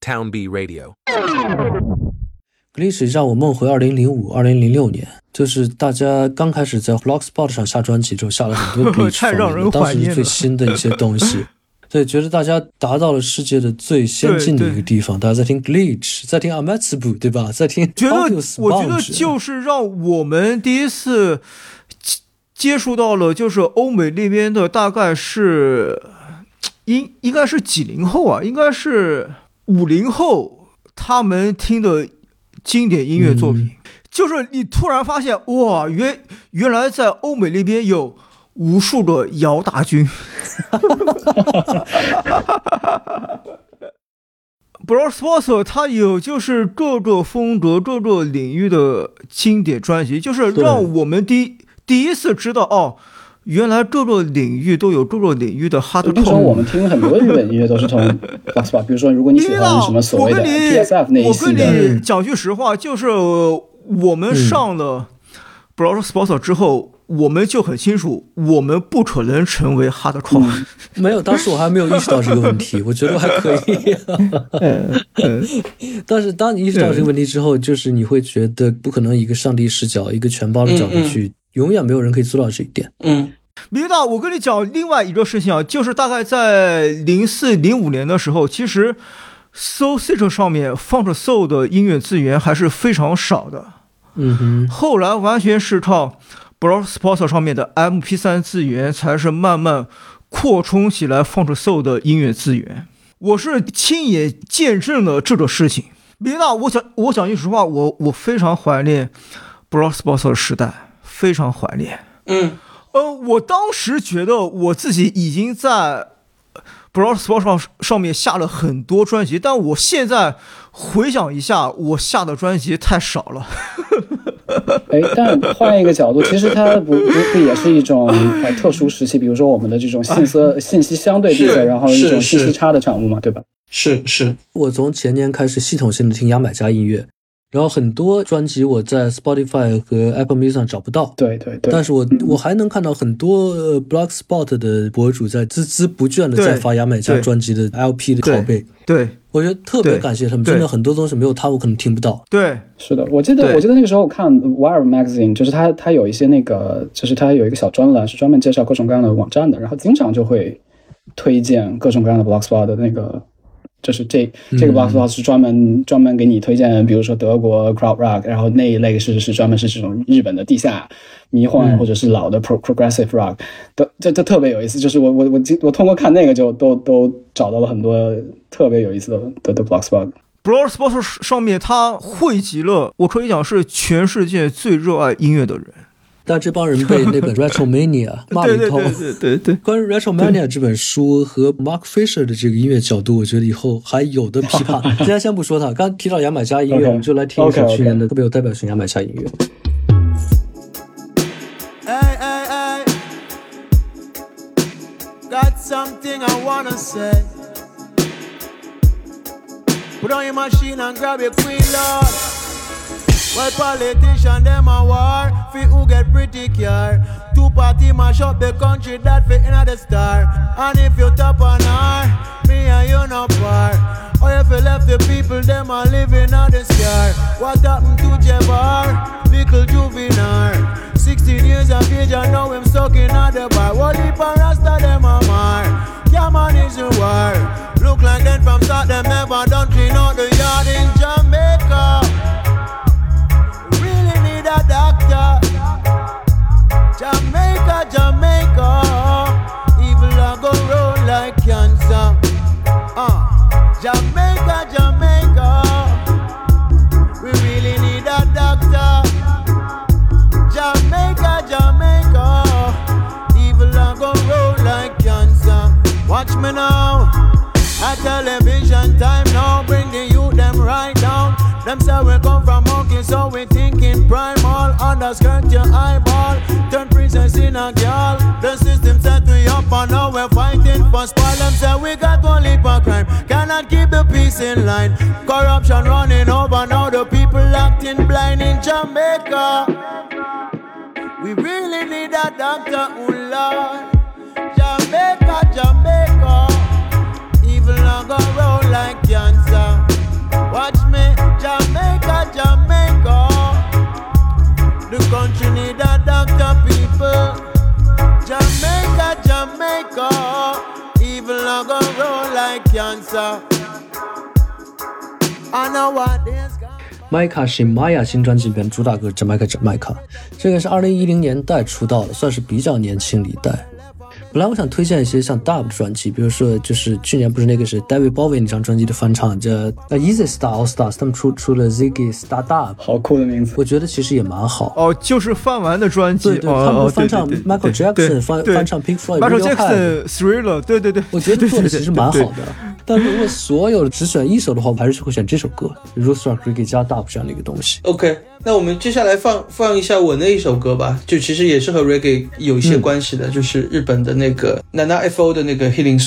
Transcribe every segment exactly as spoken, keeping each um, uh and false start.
Town B Radio。 Glitch 让我梦回二零零五、二零零六年，就是大家刚开始在 Blogspot 上下专辑之后，下了很多 Glitch 太让人当怀念了时最新的一些东西。对，觉得大家达到了世界的最先进的一个地方。大家在听 Glitch， 在听 Amatsubu， 对吧？在听觉得 Audius， 我觉得就是让我们第一次接触到了，就是欧美那边的，大概是应应该是几零后啊，应该是五零后，他们听的经典音乐作品，嗯、就是你突然发现，哇，原原来在欧美那边有无数的姚大军。Blogspot 它有就是各个风格、各个领域的经典专辑，就是让我们第第一次知道哦，原来各个领域都有各个领域的 hardcore。 那时候我们听很多日本音乐都是从 Blogspot， 比如说如果你喜欢什么所谓的 P S F 那一系的， 我跟你讲句实话，就是我们上了 Blogspot 之后。嗯，我们就很清楚，我们不可能成为 hardcore、嗯。 没有，当时我还没有意识到这个问题，我觉得还可以、啊。但是当你意识到这个问题之后，就是你会觉得不可能一个上帝视角、一个全包的角度去，嗯嗯、永远没有人可以做到这一点。 嗯，明大，我跟你讲另外一个事情啊，就是大概在零四零五年的时候，其实 Soul Search 上面放着 Soul 的音乐资源还是非常少的。 嗯哼， 后来完全是靠Blogspot 上面的 M P 三 资源才是慢慢扩充起来放着 Soul 的音乐资源，我是亲眼见证了这个事情。别的，我想我讲句实话，我我非常怀念 Blogspot 的时代，非常怀念。 嗯， 呃，我当时觉得我自己已经在 Blogspot 上上面下了很多专辑，但我现在回想一下，我下的专辑太少了。 哎，但换一个角度，其实它不不不也是一种呃特殊时期，比如说我们的这种信息信息相对闭塞，然后一种信息差的产物嘛，对吧？ 是是。 我从前年开始系统性的听牙买加音乐，然后很多专辑我在 Spotify 和 Apple Music 上找不到， 对对对。 但是我我还能看到很多、呃、Blogspot 的博主在孜孜不倦的在发牙买加专辑的 L P 的拷贝， 对。对， 我觉得特别感谢他们，真的很多东西没有他我可能听不到。 对， 是的，我记得我记得那个时候我看 Wire Magazine， 就是他他有一些那个，就是他有一个小专栏是专门介绍各种各样的网站的，然后经常就会推荐各种各样的 Blogspot 的那个，就是这这个 Blogspot 是专门、嗯、专门给你推荐，比如说德国 Crowd Rock， 然后那一类是是专门是这种日本的地下迷幻、嗯、或者是老的 Pro, Progressive Rock， 都这这特别有意思。就是我我我我通过看那个就都都找到了很多特别有意思的的的 Blogspot。Blogspot 上面它汇集了，我可以讲是全世界最热爱音乐的人。 但这帮人被那本 Retromania 骂了一通。 对对对对对。 关于 Retromania 这本书和 Mark Fisher 的这个音乐角度，我觉得以后还有的批判。今天先不说它，刚刚提到牙买加音乐， okay, 我们就来听一首去年的特别有代表性牙买加音乐。 Hey, hey, hey. Got something I wanna say. Put on your machine and grab your queen, Lord. Well, politician, them a war. Fi who get pretty care. Two party mash up the country that fit in the star. And if you top on her, me and you no part. Or if you left the people, them a living on the scar. What happened to Jabbar? Little juvenile. Sixteen years of age and now him stuck in at the bar. What if a rasta them a mar? Yeah man is a war. Look like them from start them never done clean out the yard in Jamaica. Really need a doctor. Jamaica, Jamaica. Evil a go roll like cancer. Uh, Jamaica, Jamaica. We really need a doctor. Jamaica, Jamaica. Evil a go roll like cancer. Watch me now. At television time now. Bring the youth them right down. Them say we come from monkey, so we thinking primal. Underskirt your eyeball. Turn princess in a girl. The system set we up and now we're fighting for spoil. Them say we got one leap of crime. Cannot keep the peace in line. Corruption running over now. The people acting blind in Jamaica. We really need a doctor, oh Lord. Jamaica, Jamaica. Evil not go roll like cancer. Jamaica. Evil not gonna roll like cancer. I know what this Micah 是 Maya 新专辑里边主打歌 Jamaica Jamaica， 这个是二零一零年代出道的，算是比较年轻的一代。本来我想推荐一些像 Dub 的专辑，比如说就是去年不是那个是 David Bowie 那张专辑的翻唱，叫 Easy Star All Stars， 他们出出了 Ziggy Star Dub， 好酷的名字， 我觉得其实也蛮好。 哦，就是翻完的专辑， 对对， 哦、 他们翻唱对对对 Michael Jackson， 翻翻唱 Pink Floyd， Michael Jackson Thriller， 对对对， 我觉得做的其实蛮好的。但如果所有只选一首的话，我还是会选这首歌 Roots Rock Reggae 加 Dub 这样的一个东西。 OK， 那我们接下来放放一下我那一首歌吧，就其实也是和 Reggae 有一些关系的、嗯、就是日本的那个 Nana F O 的那个 Healing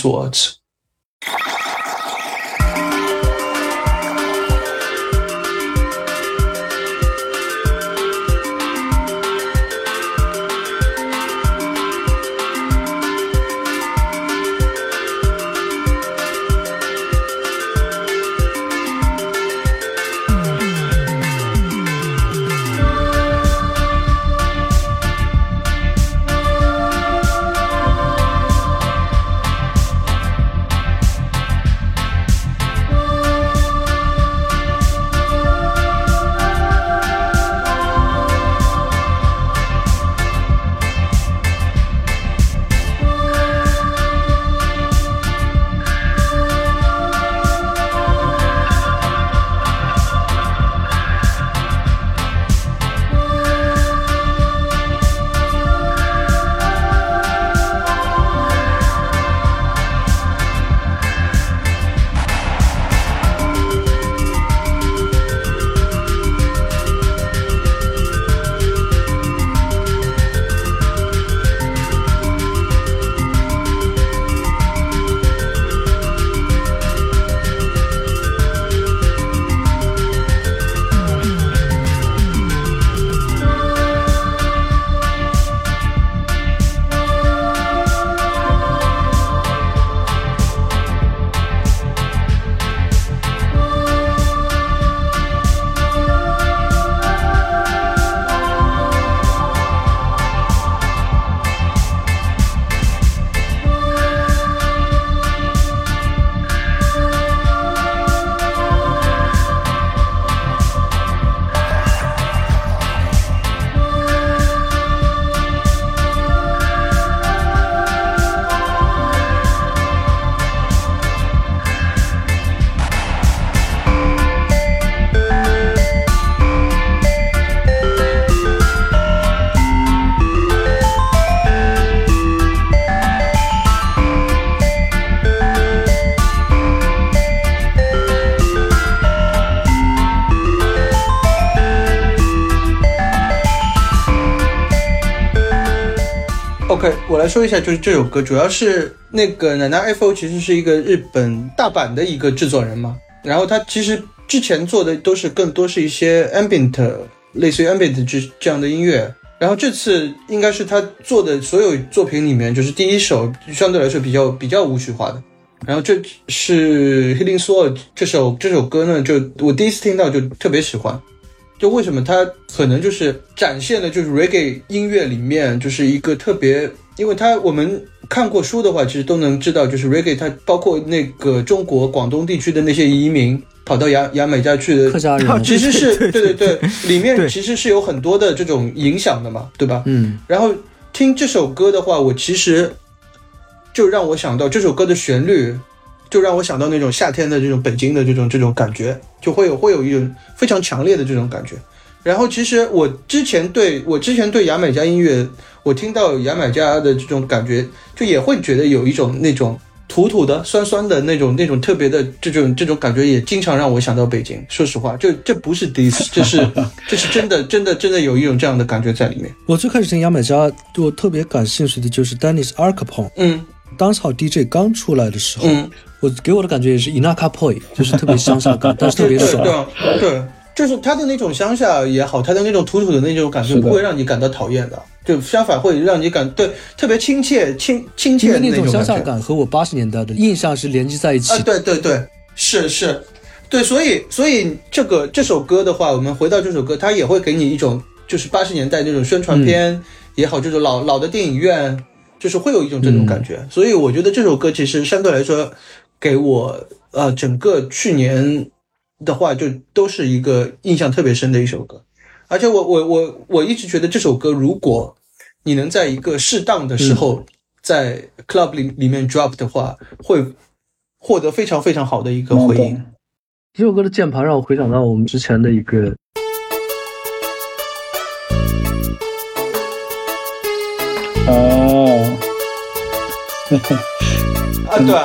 Swords。OK， 我来说一下，就是这首歌主要是那个 Nana F O 其实是一个日本大阪的一个制作人嘛，然后他其实之前做的都是更多是一些 ambient， 类似于 ambient 这这样的音乐，然后这次应该是他做的所有作品里面就是第一首相对来说比较比较舞曲化的，然后这是 Healing Sword 这首这首歌呢，就我第一次听到就特别喜欢。就为什么它可能就是展现的就是 reggae 音乐里面就是一个特别，因为它我们看过书的话其实都能知道，就是 reggae 它包括那个中国广东地区的那些移民跑到牙牙买加去的客家人， 其实是对对对对，里面其实是有很多的这种影响的嘛，对吧？ 嗯， 然后听这首歌的话，我其实就让我想到这首歌的旋律，就让我想到那种夏天的这种北京的这种这种感觉，就会有会有一种非常强烈的这种感觉。然后其实我之前对我之前对牙买加音乐，我听到牙买加的这种感觉，就也会觉得有一种那种土土的酸酸的那种那种特别的这种这种感觉，也经常让我想到北京。说实话，这这不是 diss， 这是这是真的真的真的有一种这样的感觉在里面。 我最开始听牙买加，我特别感兴趣的就是 Dennis Arcapon， 嗯。 Dancehall D J 刚出来的时候， 嗯， 我给我的感觉也是 Inaka Poi， 就是特别乡下感，但是特别爽。 对对，就是他的那种乡下也好，他的那种土土的那种感觉不会让你感到讨厌的，就相反会让你感对特别亲切亲亲切的那种乡下感和我八十年代的印象是连接在一起的。 啊，对对对，是是，对，所以所以这个这首歌的话，我们回到这首歌，它也会给你一种就是八十年代那种宣传片也好，这种老老的电影院。 就是会有一种这种感觉。嗯、所以我觉得这首歌其实相对来说给我呃整个去年的话就都是一个印象特别深的一首歌。而且我我我我一直觉得这首歌如果你能在一个适当的时候在 club 里里面 drop 的话，会获得非常非常好的一个回应。 这首歌的键盘让我回想到我们之前的一个哦， 啊对啊。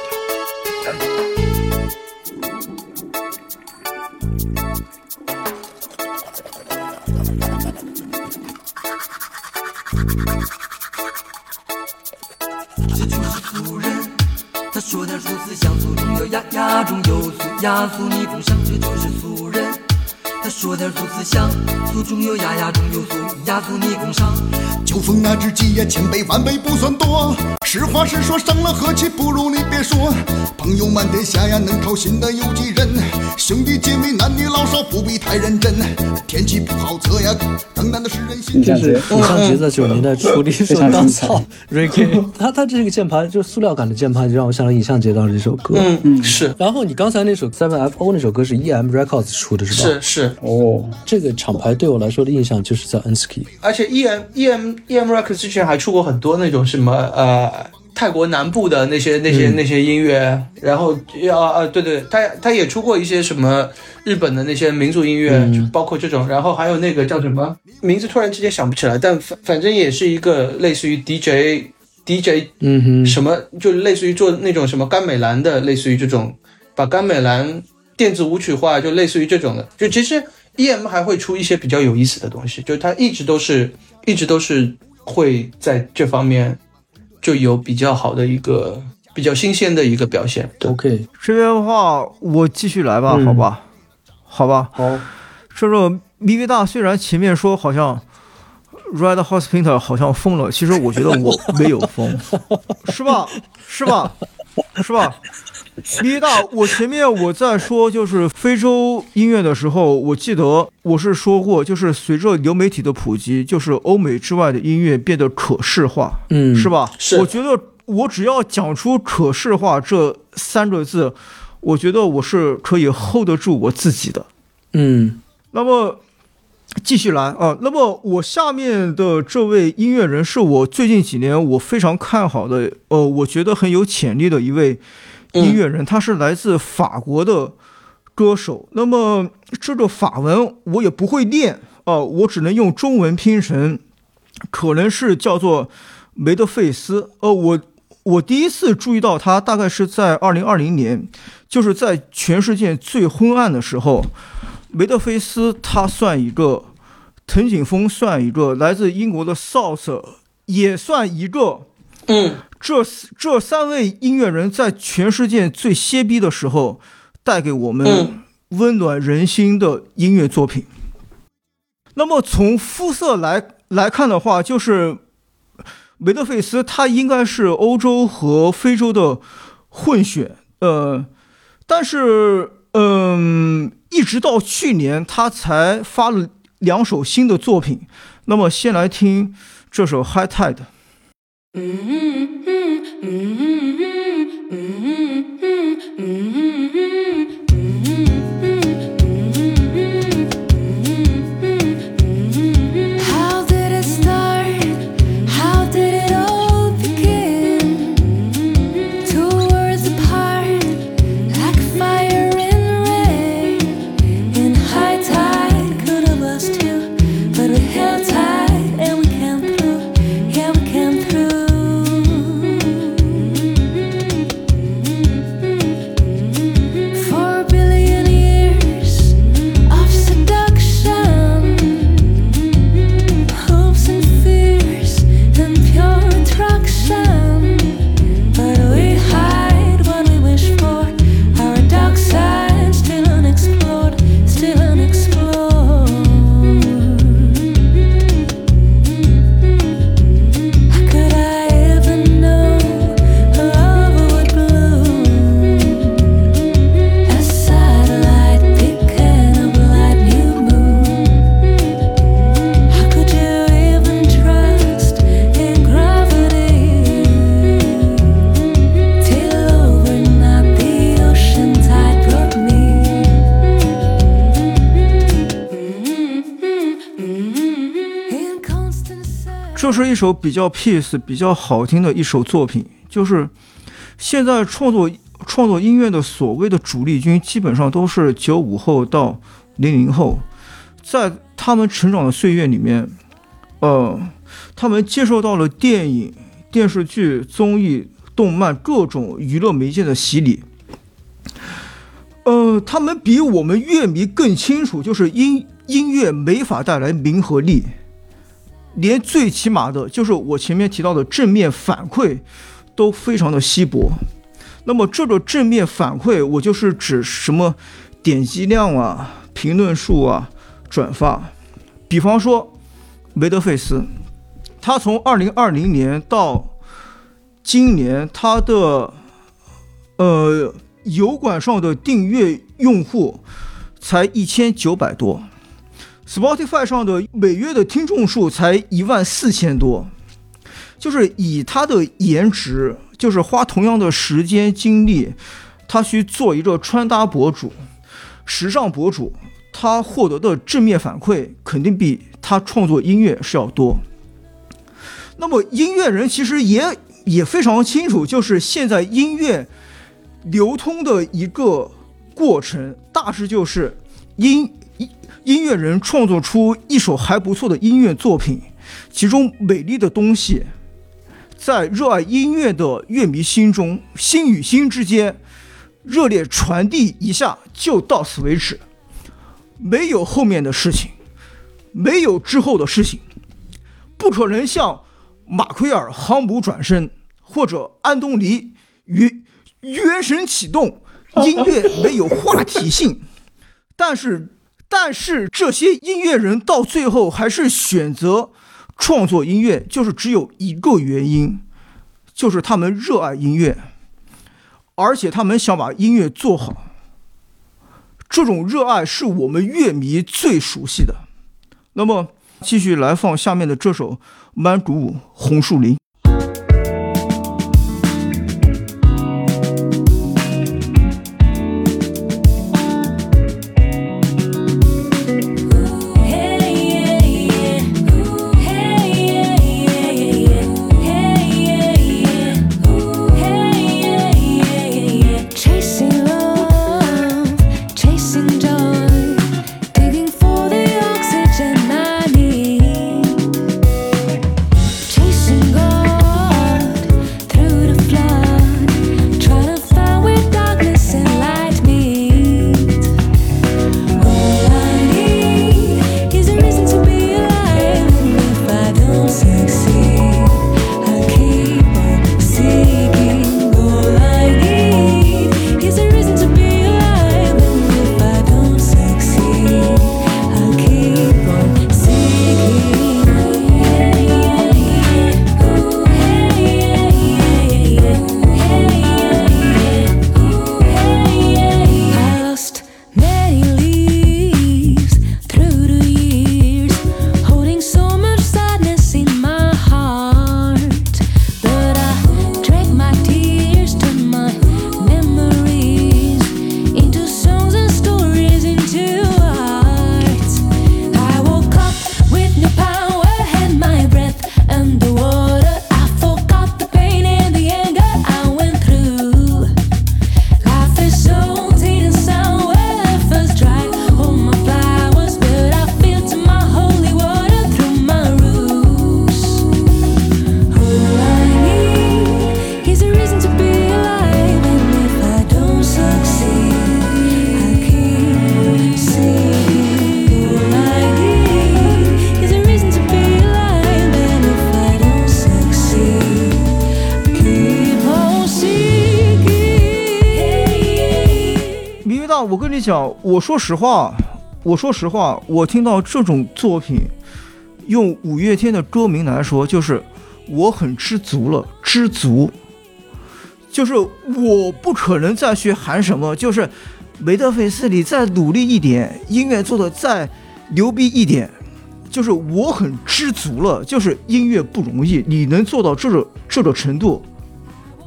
他说点说思想俗中有雅，雅中有俗，雅俗逆风上，这就是俗人。他说点俗思想，俗中有雅，雅中有俗，雅俗逆风上。 酒逢那知己呀，千杯万杯不算多。实话实说，伤了和气不如你别说。朋友满天下呀，能掏心的有几人？兄弟姐妹男女老少不必太认真。天气不好测呀，更难的是人心。 就是尹相杰在九十年代出了一首《当草》，Ricky， 他他这个键盘就塑料感的键盘，就让我想到尹相杰当时这首歌。 嗯嗯，是。 然后你刚才那首 seven F O 那首歌是 E M Records 出的，是吧？是是。 哦， 这个厂牌对我来说的印象就是在 Ensky， 而且 E M E M E M Records 之前还出过很多那种什么呃泰国南部的那些那些、嗯、那些音乐，然后啊啊对对，他他也出过一些什么日本的那些民族音乐，嗯、就包括这种，然后还有那个叫什么名字突然之间想不起来，但反反正也是一个类似于 D J D J 嗯哼什么，就类似于做那种什么甘美兰的，类似于这种把甘美兰电子舞曲化，就类似于这种的，就其实 E M 还会出一些比较有意思的东西，就它一直都是一直都是会在这方面就有比较好的一个比较新鲜的一个表现。 OK， 这边的话我继续来吧、嗯、好吧好吧好。 这个咪咪大虽然前面说好像 Red House Painter 好像疯了，其实我觉得我没有疯是吧是吧是吧咪咪大，我前面我在说就是非洲音乐的时候，我记得我是说过，就是随着流媒体的普及，就是欧美之外的音乐变得可视化， 嗯， 是吧？ 是。 我觉得我只要讲出可视化这三个字，我觉得我是可以 hold 得住我自己的。 嗯， 那么继续来啊，那么我下面的这位音乐人是我最近几年我非常看好的，呃，我觉得很有潜力的一位音乐人，他是来自法国的歌手。那么这个法文我也不会念啊、呃，我只能用中文拼成，可能是叫做梅德费斯。呃，我我第一次注意到他大概是在二零二零年，就是在全世界最昏暗的时候，梅德菲斯他算一个，藤井风算一个，来自英国的 South 也算一个。 嗯， 这这三位音乐人在全世界最歇逼的时候，带给我们温暖人心的音乐作品。那么从肤色来来看的话，就是梅德费斯他应该是欧洲和非洲的混血，呃，但是嗯、呃，一直到去年他才发了两首新的作品。那么先来听这首 High Tide。 这是一首比较 peace 比较好听的一首作品。就是现在创作创作音乐的所谓的主力军基本上都是九五后到零零后，在他们成长的岁月里面，呃，他们接受到了电影、电视剧、综艺、动漫各种娱乐媒介的洗礼。呃，他们比我们乐迷更清楚，就是音音乐没法带来名和利，连最起码的就是我前面提到的正面反馈都非常的稀薄。那么这个正面反馈，我就是指什么点击量啊、评论数啊、转发。比方说梅德费斯，他从二零二零年到今年，他的呃油管上的订阅用户才一千九百多， Spotify 上的每月的听众数才一万四千多。就是以他的颜值，就是花同样的时间精力，他去做一个穿搭博主、时尚博主，他获得的正面反馈肯定比他创作音乐是要多。那么音乐人其实也也非常清楚，就是现在音乐流通的一个过程，大致就是音音乐人创作出一首还不错的音乐作品，其中美丽的东西在热爱音乐的乐迷心中，心与心之间热烈传递一下，就到此为止，没有后面的事情，没有之后的事情，不可能像马奎尔航母转身或者安东尼原原神启动，音乐没有话题性。但是但是这些音乐人到最后还是选择创作音乐，就是只有一个原因，就是他们热爱音乐，而且他们想把音乐做好。这种热爱是我们乐迷最熟悉的。那么继续来放下面的这首曼谷舞红树林。我跟你讲，我说实话，我说实话，我听到这种作品，用五月天的歌名来说，就是我很知足了，知足。就是我不可能再去喊什么，就是梅德菲斯你再努力一点，音乐做的再牛逼一点，就是我很知足了。就是音乐不容易，你能做到这个这个程度，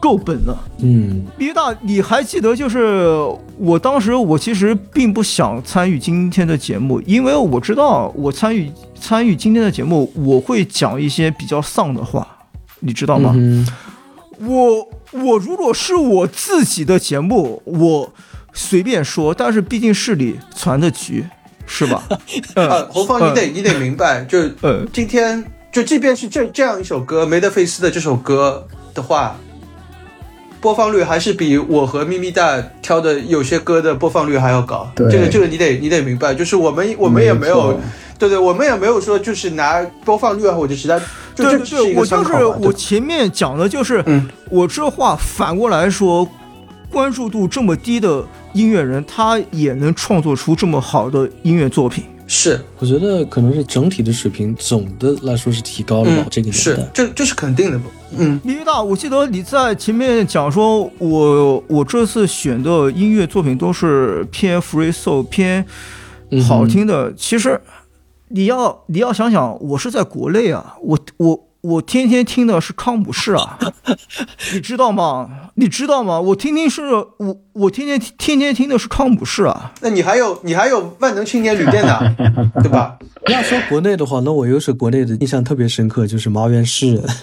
够本了。 嗯， 毕大，你还记得就是我当时我其实并不想参与今天的节目，因为我知道我参与参与今天的节目，我会讲一些比较丧的话，你知道吗？ 嗯、 我我如果是我自己的节目，我随便说，但是毕竟是你传的局，是吧？ 啊，侯芳，你得、嗯、你得明白，就嗯， 今天就即便是这这样一首歌，梅德菲斯的这首歌的话，播放率还是比我和咪咪大挑的有些歌的播放率还要高。 对， 这个这个你得你得明白，就是我们我们也没有，对对，我们也没有说就是拿播放率啊或者其他，就对对对， 我就是我前面讲的就是， 嗯， 我这话反过来说，关注度这么低的音乐人，他也能创作出这么好的音乐作品。 是， 我觉得可能是整体的水平总的来说是提高了吧，嗯、这个年代是，这这是肯定的。嗯， 李玉大，我记得你在前面讲说，我我这次选的音乐作品都是偏 free soul 偏好听的。嗯、其实你要你要想想，我是在国内啊，我我。我天天听的是康普士啊，你知道吗？你知道吗？我天天是我我天天天天听的是康普士啊。 那你还有你还有万能青年旅店呢，对吧？ 要说国内的话，那我又是国内的印象特别深刻，就是麻原诗人。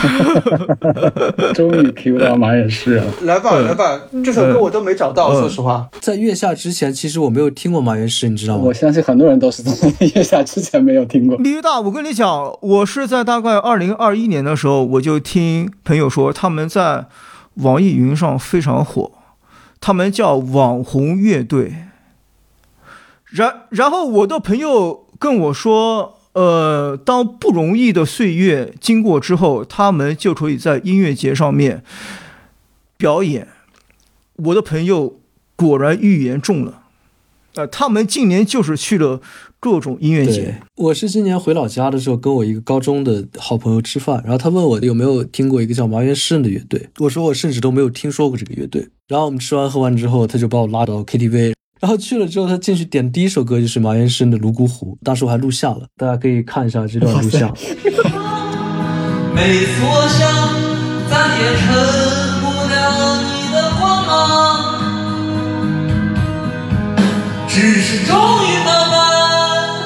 终于 Q 到麻原诗人了。 来吧来吧，这首歌我都没找到，嗯、说实话。 在月下之前，其实我没有听过麻原诗，你知道吗？ 我相信很多人都是在月下之前没有听过。 李玉大，我跟你讲，我是在大概二零二一年的时候，我就听朋友说他们在网易云上非常火，他们叫网红乐队。然然后我的朋友跟我说，呃，当不容易的岁月经过之后，他们就可以在音乐节上面表演。我的朋友果然预言中了，呃，他们今年就是去了各种音乐节。 我是今年回老家的时候，跟我一个高中的好朋友吃饭，然后他问我有没有听过一个叫麻原诗人的乐队，我说我甚至都没有听说过这个乐队。然后我们吃完喝完之后，他就把我拉到 K T V。然后去了之后，他进去点第一首歌就是麻原诗人的《泸沽湖》，当时我还录像了，大家可以看一下这段录像。 每次我想再也撑不了你的光芒，只是终于慢慢，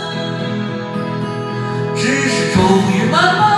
只是终于慢慢。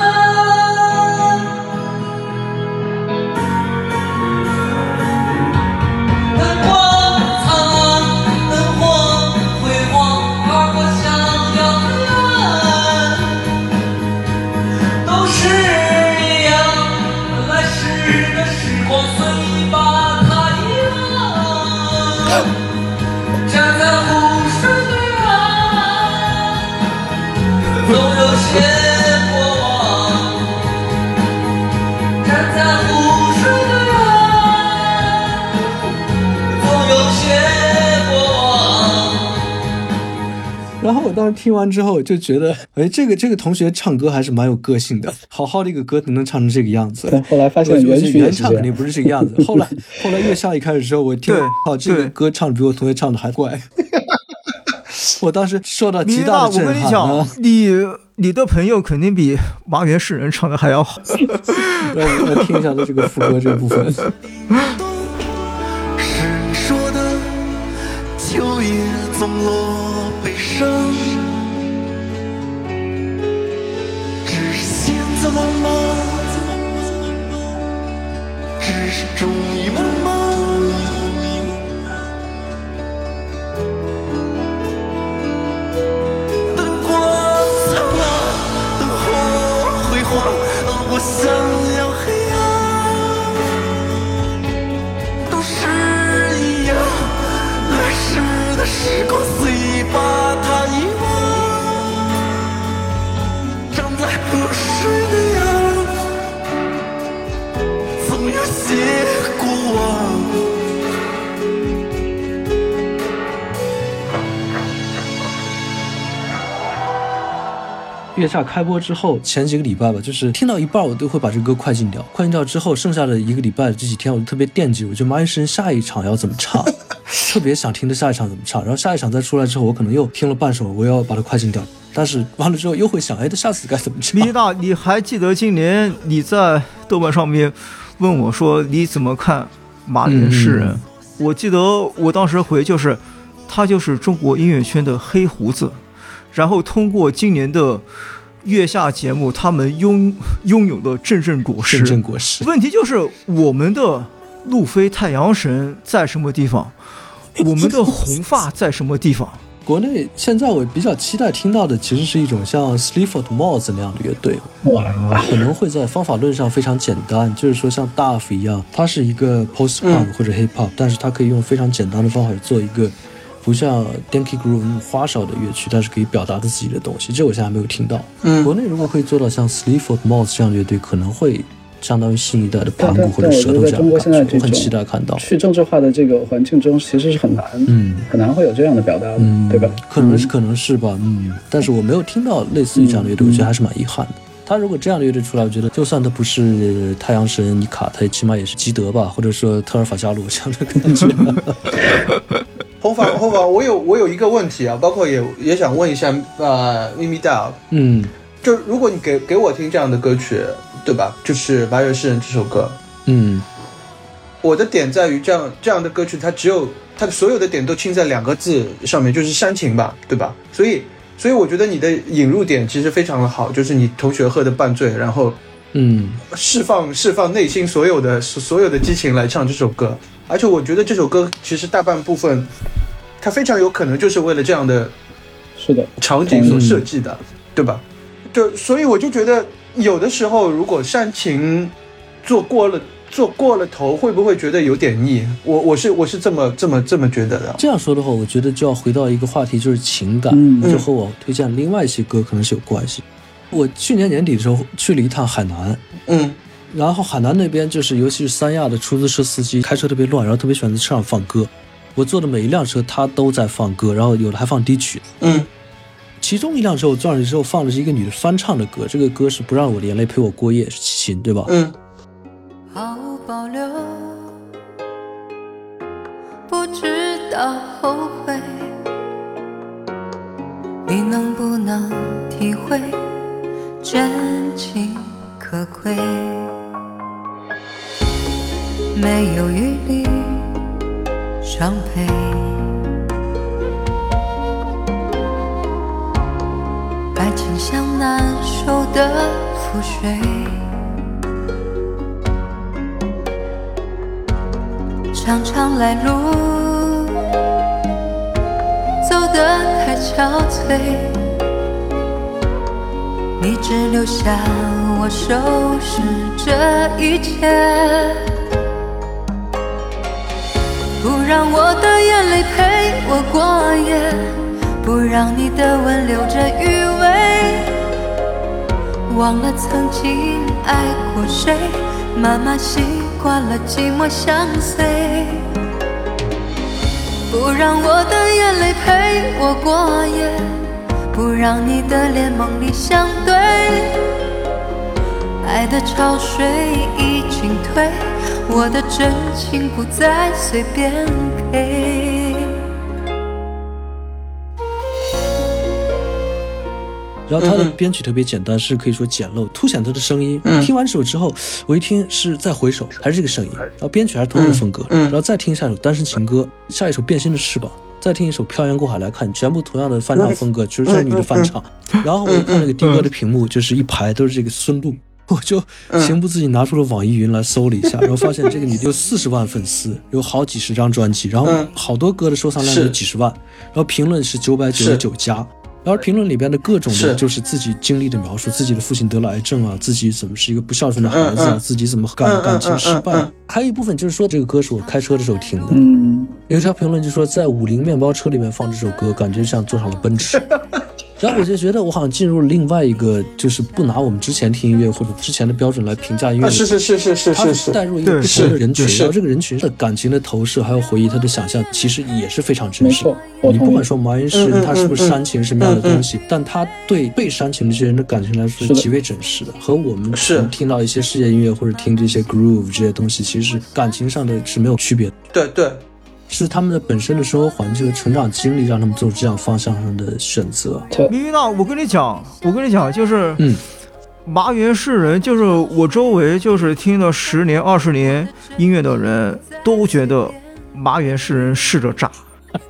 然后我当时听完之后就觉得，哎，这个这个同学唱歌还是蛮有个性的，好好的一个歌能唱成这个样子。 但后来发现原曲原唱肯定不是这个样子。后来后来月下一开始之后，我听，好，这个歌唱的比我同学唱的还怪。我当时受到极大的震撼。我跟你讲，你你的朋友肯定比麻原诗人唱的还要好。 让我来听一下他这个副歌这部分。 是说的秋叶总落悲伤，只是现在慢慢，只是终于慢慢。我想要黑暗，都是一样，来时的时光随意把它遗忘，站在河水的岸，总有些过往。 月下开播之后前几个礼拜吧，就是听到一半我都会把这歌快进掉，快进掉之后剩下的一个礼拜这几天我就特别惦记，我就麻原诗人下一场要怎么唱，特别想听的下一场怎么唱，然后下一场再出来之后我可能又听了半首，我要把它快进掉，但是完了之后又会想，哎，他下次该怎么唱。 米大，你还记得今年你在豆瓣上面问我说你怎么看马连诗人、嗯、我记得我当时回就是他就是中国音乐圈的黑胡子，然后通过今年的月下节目他们拥拥有的阵阵果实， 阵阵果实。 问题就是我们的路飞太阳神在什么地方，我们的红发在什么地方。 国内现在我比较期待听到的其实是一种像 Sleaford Mods 那样的乐队，可能会在方法论上非常简单，就是说像 Duff 一样，它是一个 post punk 或者 hip hop、嗯、但是它可以用非常简单的方法做一个不像 Danky Groove 那么花哨的乐曲，但是可以表达的自己的东西，这我现在还没有听到、嗯、国内如果可以做到像 Sleaford Mods 这样的乐队，可能会相当于新一代的盘古或者舌头这样的感觉，我很期待看到。 去政治化的这个环境中，其实是很难，嗯，很难会有这样的表达的，嗯，对吧？ 可能是，可能是吧，嗯。但是我没有听到类似于这样的乐队，我觉得还是蛮遗憾的。他如果这样的乐队出来，我觉得就算他不是太阳神尼卡，他起码也是基德吧，或者说特尔法加鲁这样的感觉。 红房，红房，我有我有一个问题啊，包括也也想问一下呃咪咪大， 嗯， 就如果你给给我听这样的歌曲。对吧？就是《马约诗人》这首歌， 嗯， 我的点在于这样这样的歌曲，它只有它的所有的点都倾在两个字上面，就是煽情吧，对吧？所以，所以我觉得你的引入点其实非常的好，就是你同学喝的半醉，然后， 嗯， 释放释放内心所有的所有的激情来唱这首歌，而且我觉得这首歌其实大半部分，它非常有可能就是为了这样的， 是的， 场景所设计的，对吧？就所以我就觉得。有的时候如果煽情做过了做过了头，会不会觉得有点腻？我我是我是这么这么这么觉得的。 这样说的话，我觉得就要回到一个话题，就是情感， 嗯、 就和我推荐另外一些歌可能是有关系。我去年年底的时候去了一趟海南， 嗯， 然后海南那边就是尤其是三亚的出租车司机开车特别乱，然后特别喜欢在车上放歌。我坐的每一辆车他都在放歌，然后有的还放低曲， 嗯。 其中一辆车我坐上去之后放的是一个女的翻唱的歌，这个歌是不让我的眼泪陪我过夜，是齐秦，对吧？ 嗯。 毫无保留，不知道后悔，你能不能体会真情可贵？没有余力伤悲。爱情像难收的覆水，常常来路走得太憔悴，你只留下我收拾这一切，不让我的眼泪陪我过夜，不让你的吻留着余味，忘了曾经爱过谁，慢慢习惯了寂寞相随，不让我的眼泪陪我过夜，不让你的脸梦里相对，爱的潮水已经退，我的真情不再随便给。 然后他的编曲特别简单，是可以说简陋，凸显他的声音。 嗯、 听完这首之后，我一听是再回首还是这个声音，然后编曲还是同样的风格， 嗯嗯、 然后再听下一首单身情歌，下一首变心的翅膀，再听一首漂洋过海来看，全部同样的翻唱风格，就是这女的翻唱。然后我一看那个听歌的屏幕，就是一排都是这个孙露。我就情不自禁拿出了网易云来搜了一下，然后发现这个女的有四十万粉丝，有好几十张专辑，然后好多歌的收藏量有几十万，然后评论是九百九十九加。然后评论里边的各种的就是自己经历的描述，自己的父亲得了癌症啊，自己怎么是一个不孝顺的孩子啊， 嗯、 自己怎么感感情失败、嗯，还有一部分就是说这个歌是我开车的时候听的。 嗯， 有一条评论就说在五菱面包车里面放这首歌，感觉像坐上了奔驰。然后我就觉得我好像进入了另外一个，就是不拿我们之前听音乐或者之前的标准来评价音乐， 啊、是是是是是是是， 带入一个不同的人群，然后这个人群的感情的投射还有回忆，他的想象其实也是非常真实的。你不管说毛音诗人他是不是煽情什么样的东西，嗯嗯嗯、但他对被煽情的这些人的感情来说是极为真实的，和我们听到一些世界音乐或者听这些 groove 这些东西，其实感情上的是没有区别的。 对对。 是他们的本身的生活环境和成长经历让他们做这样方向上的选择。 咪咪娜，我跟你讲，我跟你讲，就是， 嗯， 麻原是人，就是我周围就是听了十年、二十年音乐的人都觉得麻原是人是个渣。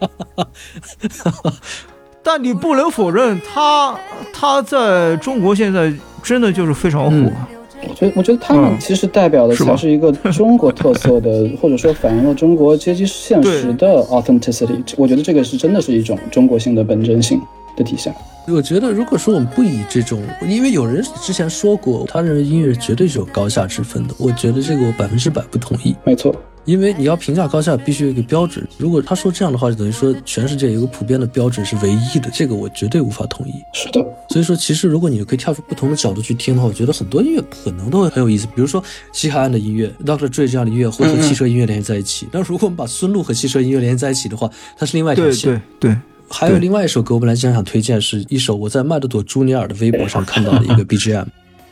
但你不能否认他他在中国现在真的就是非常火。嗯， 我觉得我觉得他们其实代表的才是一个中国特色的，嗯、或者说反映了中国阶级现实的 authenticity。我觉得这个是真的是一种中国性的本真性的体现。 我觉得如果说我们不以这种，因为有人之前说过他认为音乐绝对是有高下之分的，我觉得这个我百分之百不同意。 没错， 因为你要评价高下必须有一个标准，如果他说这样的话就等于说全世界有一个普遍的标准是唯一的，这个我绝对无法同意。 是的， 所以说其实如果你可以跳出不同的角度去听的话，我觉得很多音乐可能都会很有意思。比如说西海岸的音乐 Doctor Dre 这样的音乐会和汽车音乐联系在一起，那如果我们把孙路和汽车音乐联系在一起的话，它是另外一条线。 对对对。 还有另外一首歌我本来想想推荐，是一首我在麦德朵朱尼尔的微博上看到的一个 B G M。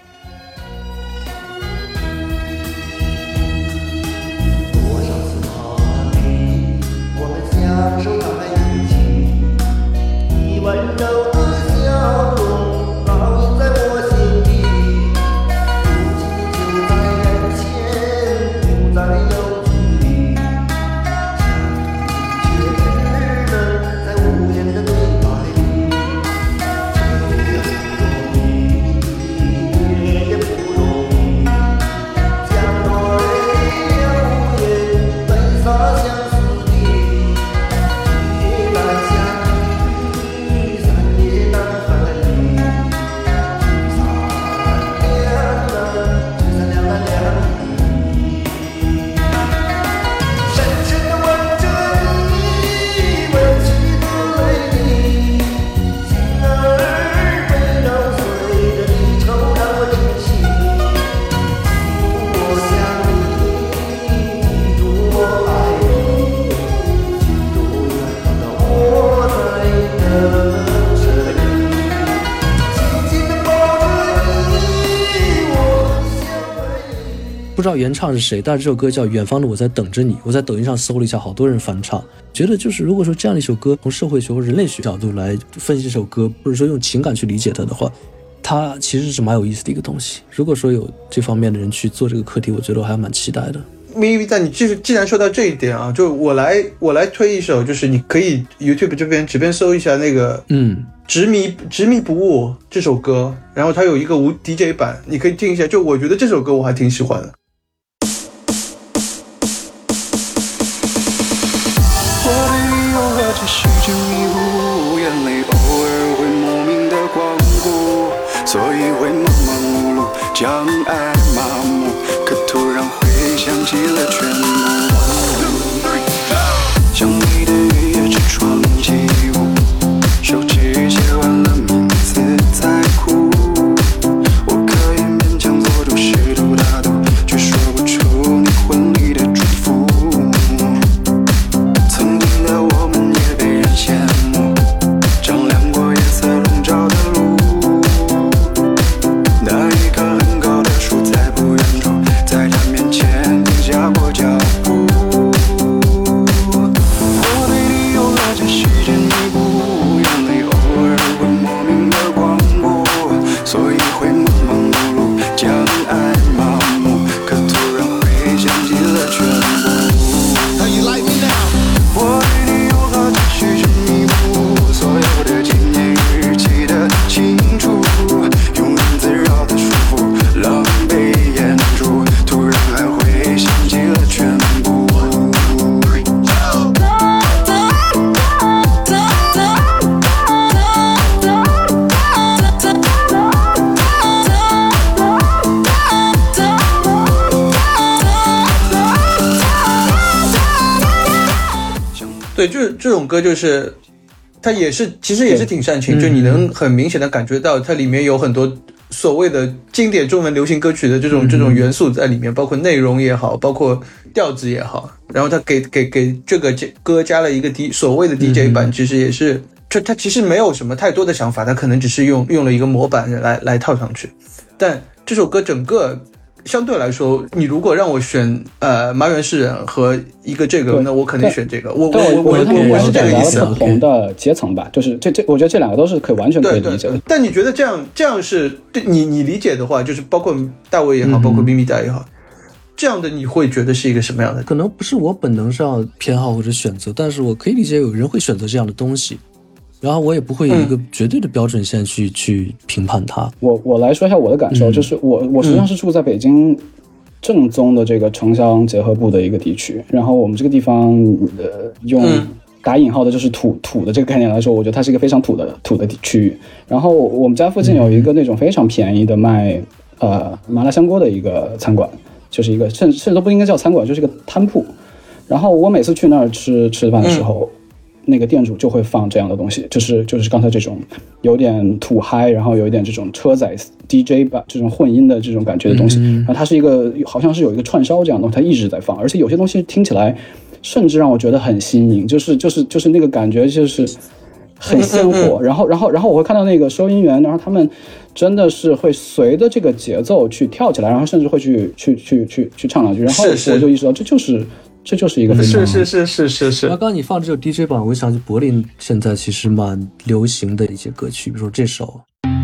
不知道原唱是谁，但是这首歌叫《远方的我在等着你》，我在抖音上搜了一下，好多人翻唱。觉得就是如果说这样的一首歌，从社会学或人类学角度来分析这首歌，或者说用情感去理解它的话，它其实是蛮有意思的一个东西。如果说有这方面的人去做这个课题，我觉得我还蛮期待的。 咪咪在你既既然说到这一点啊，就我来我来推一首，就是你可以 YouTube 这边随便搜一下那个嗯执迷执迷不悟这首歌，然后它有一个无 D J 版，你可以听一下。就我觉得这首歌我还挺喜欢的。 我的理由和这世间迷雾，眼泪偶尔会莫名的光顾，所以会忙忙碌碌，将爱麻木，可突然会想起了全部。想你的雨夜之窗起舞，手指写完了名字再哭，我可以勉强做出适度大度，却说不出你婚礼的祝福。曾经的我们也被人羡慕，丈量过夜色笼罩的路，那一棵很高的树在不远处，在他面前停下过脚步。我对你有了这世间迷雾，眼泪偶尔会莫名的光顾，所以会忙忙碌碌，将爱麻木，可突然会想起了全部。我对你有了这世间迷雾，所有的纪念日记得清楚，庸人自扰的束缚，狼狈演出，突然还会想起了全部。 对，就是这种歌，就是它也是其实也是挺煽情，就你能很明显的感觉到它里面有很多所谓的经典中文流行歌曲的这种、嗯、这种元素在里面，包括内容也好，包括调子也好，然后他给给给这个歌加了一个 D 所谓的 D J 版，其实也是就他其实没有什么太多的想法，他可能只是用用了一个模板来来套上去，但这首歌整个相对来说，你如果让我选呃麻原诗人和一个这个，那我肯定选这个。我我我我觉得他们我是这个意思。 不同的阶层吧，就是这这，我觉得这两个都是可以完全可以理解的。 对对，但你觉得这样这样是对你你理解的话，就是包括大卫也好，包括咪咪达也好。嗯，这样的你会觉得是一个什么样的？ 可能不是我本能上偏好或者选择，但是我可以理解有人会选择这样的东西，然后我也不会有一个绝对的标准线去、嗯、去评判它。 我我来说一下我的感受，嗯、就是我我实际上是住在北京正宗的这个城乡结合部的一个地区，然后我们这个地方呃用打引号的就是土土的这个概念来说，我觉得它是一个非常土的土的区域。然后我们家附近有一个那种非常便宜的卖呃麻辣香锅的一个餐馆。就是一个甚甚至都不应该叫餐馆，就是一个摊铺。然后我每次去那儿吃吃饭的时候、嗯，那个店主就会放这样的东西，就是就是刚才这种有点土嗨，然后有一点这种车载 D J 吧，这种混音的这种感觉的东西。嗯、然后它是一个好像是有一个串烧这样的东西，它一直在放，而且有些东西听起来甚至让我觉得很新颖，就是就是就是那个感觉就是很鲜活。然后然后然后我会看到那个收银员，然后他们。真的是会随着这个节奏去跳起来，然后甚至会去去去去去唱两句，然后我就意识到这就是这就是一个非常是是是是是是。 刚刚你放这首 D J 版，我想起柏林现在其实蛮流行的一些歌曲，比如说这首。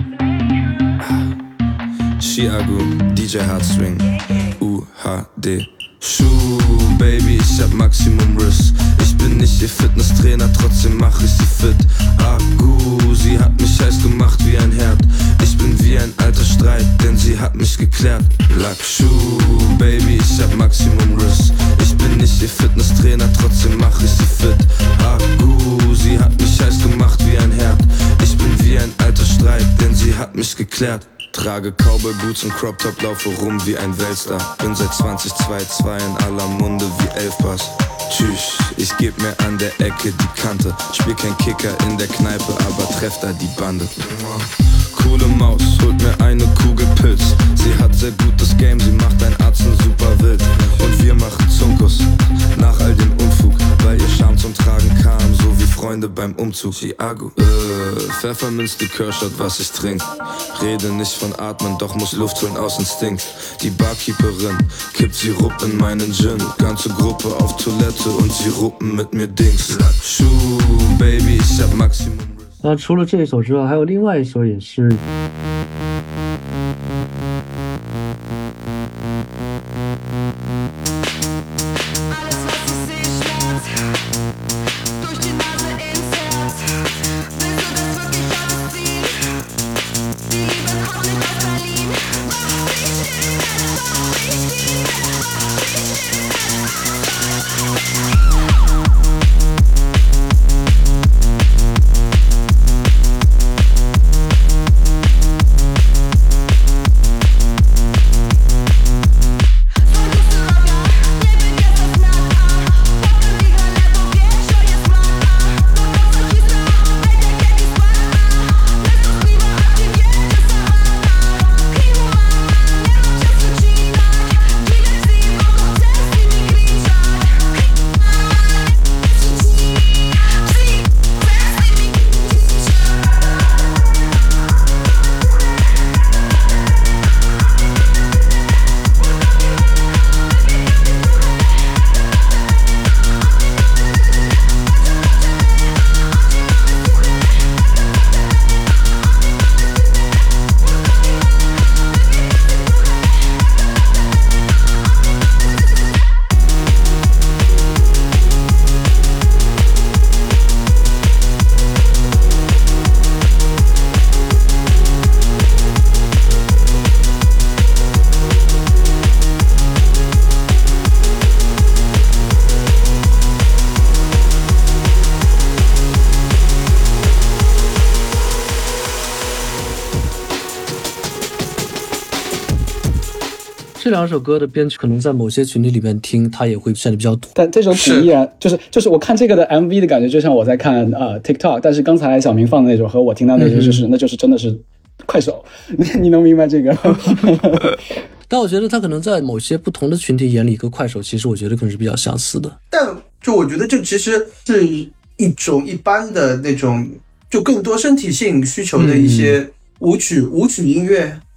Chiago D J Hard Swing U H D Schuh Baby, ich hab Maximum Riss. Ich bin nicht ihr Fitnesstrainer, trotzdem mach ich sie fit. Akku, sie hat mich heiß gemacht wie ein Herd. Ich bin wie ein alter Streit, denn sie hat mich geklärt. Lackschuh, Baby, ich hab Maximum Riss. Ich bin nicht ihr Fitnesstrainer, trotzdem mach ich sie fit. Akku, sie hat mich heiß gemacht wie ein Herd. Ich bin wie ein alter Streit, denn sie hat mich geklärt. Trage Cowboy-Boots und Crop-Top, laufe rum wie ein Weltstar. Bin seit zwanzig zweiundzwanzig in aller Munde wie Elfpass. Tschüss, ich geb mir an der Ecke die Kante. Spiel kein Kicker in der Kneipe, aber treff da die Bande. Coole Maus, holt mir eine Kugel Pilz. Sie hat sehr gutes Game, sie macht ein Arzen super wild. Und wir machen Zunkus, nach all dem Unfug. Weil ihr Charme zum Tragen kam, so wie Freunde beim Umzug. Chiago, äh, Pfefferminz-Likörshot, was ich trink. Rede nicht von Atmen, doch muss Luft holen aus Instinkt. Die Barkeeperin kippt Sirup in meinen Gin. Ganze Gruppe auf Toilette und sie ruppen mit mir Dings. Schuh, Baby, ich hab Maximum. 那除了这一首之外，还有另外一首也是。这两首歌的编曲可能在某些群体里面听，它也会显得比较土。 但这种土依然就是就是我看这个的 M V 的感觉，就像我在看呃 TikTok， 但是刚才小明放的那种和我听到那种就是、嗯、那就是真的是快手，你能明白这个？ 但我觉得它可能在某些不同的群体眼里，跟快手其实我觉得可能是比较相似的。 但就我觉得这其实是一种一般的那种，就更多身体性需求的一些舞曲、嗯、舞曲音乐。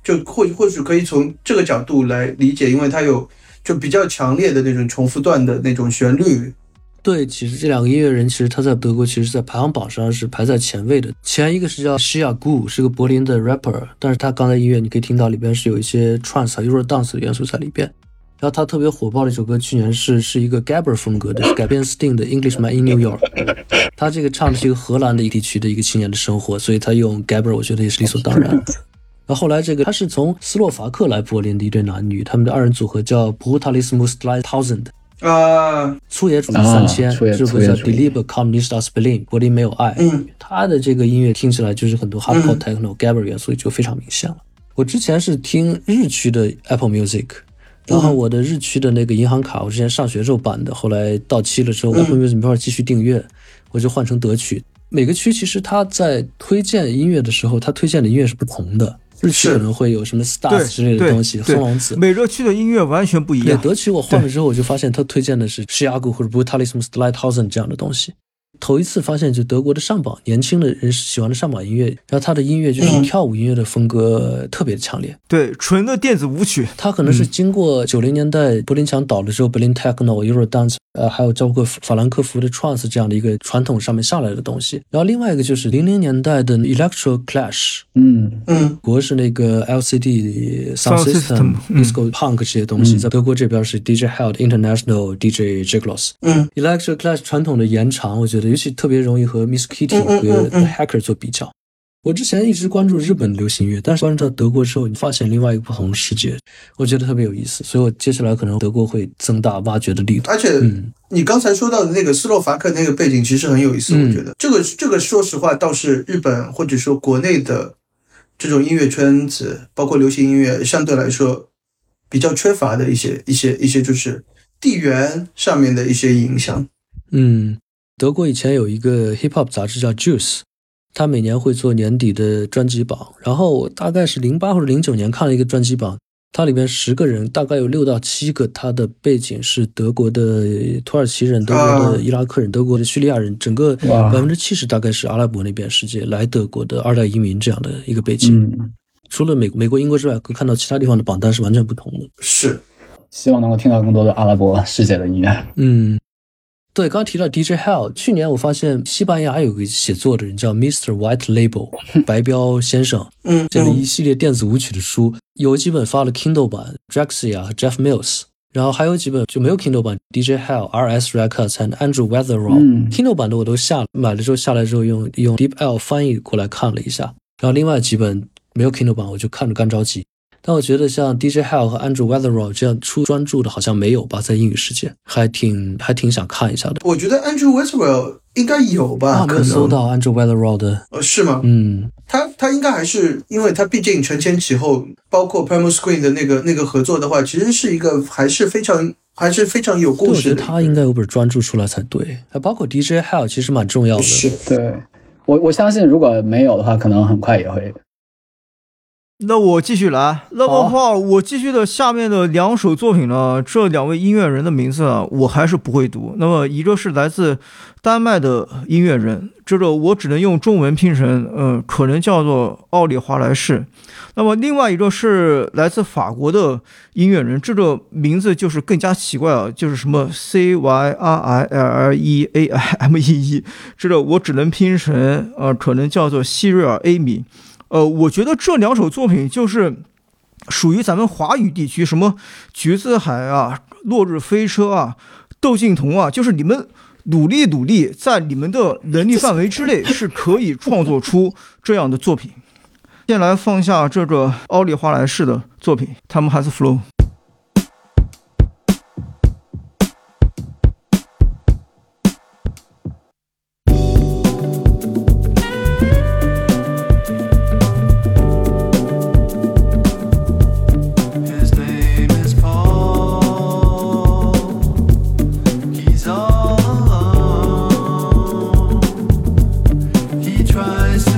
就或或许可以从这个角度来理解，因为它有就比较强烈的那种重复段的那种旋律。 对，其实这两个音乐人，其实他在德国，其实在排行榜上是排在前位的。前一个是叫 Shia Gu， 是个柏林的 rapper， 但是他刚才音乐你可以听到里边是有一些 trance 和 Eurodance 的元素在里边。然后他特别火爆的一首歌，去年是是一个 Gabber 风格的，是改编 Sting 的 Englishman in New York。他这个唱的是一个荷兰的一地区的一个青年的生活，所以他用 Gabber 我觉得也是理所当然。然后后来这个他是从斯洛伐克来柏林的一对男女，他们的二人组合叫 Brutalismus drei tausend。 啊， 粗野主义三千， 啊、 这个叫 Deliber Kommunist aus Berlin， 柏林没有爱。 嗯， 他的这个音乐听起来就是很多 hardcore techno、Gabber 元素就非常明显了。我之前是听日区的 Apple Music， 然后我的日区的那个银行卡，我之前上学时候办的，后来到期了之后 ，Apple Music 没法继续订阅，我就换成德区。每个区其实他在推荐音乐的时候，他推荐的音乐是不同的。日区可能会有什么 Stars 之类的东西，松隆子。 每个区的音乐完全不一样。 对，德区我换了之后，我就发现他推荐的是 Shia Gu 或者 Brutalismus drei tausend 这样的东西。头一次发现，就德国的上榜，年轻的人喜欢的上榜音乐，然后他的音乐就是跳舞音乐的风格特别的强烈， 对，纯的电子舞曲。 他可能是经过九零年代柏林墙倒了之后 ，Berlin Techno、Eurodance， 呃，还有包括法兰克福的 Trance 这样的一个传统上面下来的东西。然后另外一个就是零零年代的 Electro Clash， 嗯嗯， 国是那个 L C D Sound System、Disco Punk 这些东西，在德国这边是 D J Held、International、D J Giglos。 嗯 ，Electro Clash 传统的延长，我觉得尤其特别容易和 Miss Kitty 和 The Hacker 做比较。我之前一直关注日本流行乐，但是关注到德国之后，你发现另外一个不同的世界，我觉得特别有意思。所以我接下来可能德国会增大挖掘的力度。 而且， 嗯， 你刚才说到的那个斯洛伐克那个背景其实很有意思， 嗯、 我觉得这个这个说实话倒是日本或者说国内的这种音乐圈子，包括流行音乐相对来说比较缺乏的一些一些一些就是地缘上面的一些影响。 嗯，德国以前有一个 hip hop 杂志叫 Juice。他每年会做年底的专辑榜，然后我大概是零八或者零九年看了一个专辑榜，它里面十个人大概有六到七个，他的背景是德国的土耳其人、德国的伊拉克人、德国的叙利亚人，整个百分之七十大概是阿拉伯那边世界来德国的二代移民这样的一个背景。 嗯， 除了美美国、英国之外，可以看到其他地方的榜单是完全不同的。 是， 希望能够听到更多的阿拉伯世界的音乐。 嗯。对，刚刚提到 D J Hell， 去年我发现西班牙有个写作的人叫 Mister White Label 白标先生， 嗯， 写了一系列电子舞曲的书，有几本发了 Kindle 版 Drexia 和 Jeff Mills， 然后还有几本就没有 Kindle 版 D J Hell、R S Records 和 Andrew Weatherall、嗯、Kindle 版的我都下买了之后下来之后用用 DeepL 翻译过来看了一下，然后另外几本没有 Kindle 版我就看着干着急。但我觉得像 D J Hell 和 Andrew Weatherall 这样出专著的好像没有吧，在英语世界还挺还挺想看一下的。 我觉得 Andrew Weatherall 应该有吧， 啊，没有搜到 Andrew Weatherall 的。 呃，是吗？ 嗯， 他他应该还是，因为他毕竟承前启后，包括 Primal Screen 的那个那个合作的话，其实是一个还是非常还是非常有故事的。 我觉得他应该有本专著出来才对。还包括 D J Hell 其实蛮重要的。 是， 对，我我相信如果没有的话，可能很快也会。 那我继续来，那么话我继续的下面的两首作品呢，这两位音乐人的名字呢，我还是不会读。那么一个是来自丹麦的音乐人，这个我只能用中文拼成，呃，可能叫做奥利华莱士。那么另外一个是来自法国的音乐人，这个名字就是更加奇怪啊，就是什么 C Y R I L L E A I M E E， 这个我只能拼成，呃，可能叫做希瑞尔艾米。呃，我觉得这两首作品就是属于咱们华语地区，什么橘子海啊、落日飞车啊、窦靖童啊，就是你们努力努力，在你们的能力范围之内是可以创作出这样的作品。先来放下这个奥利华莱士的作品，他们还是 Flow。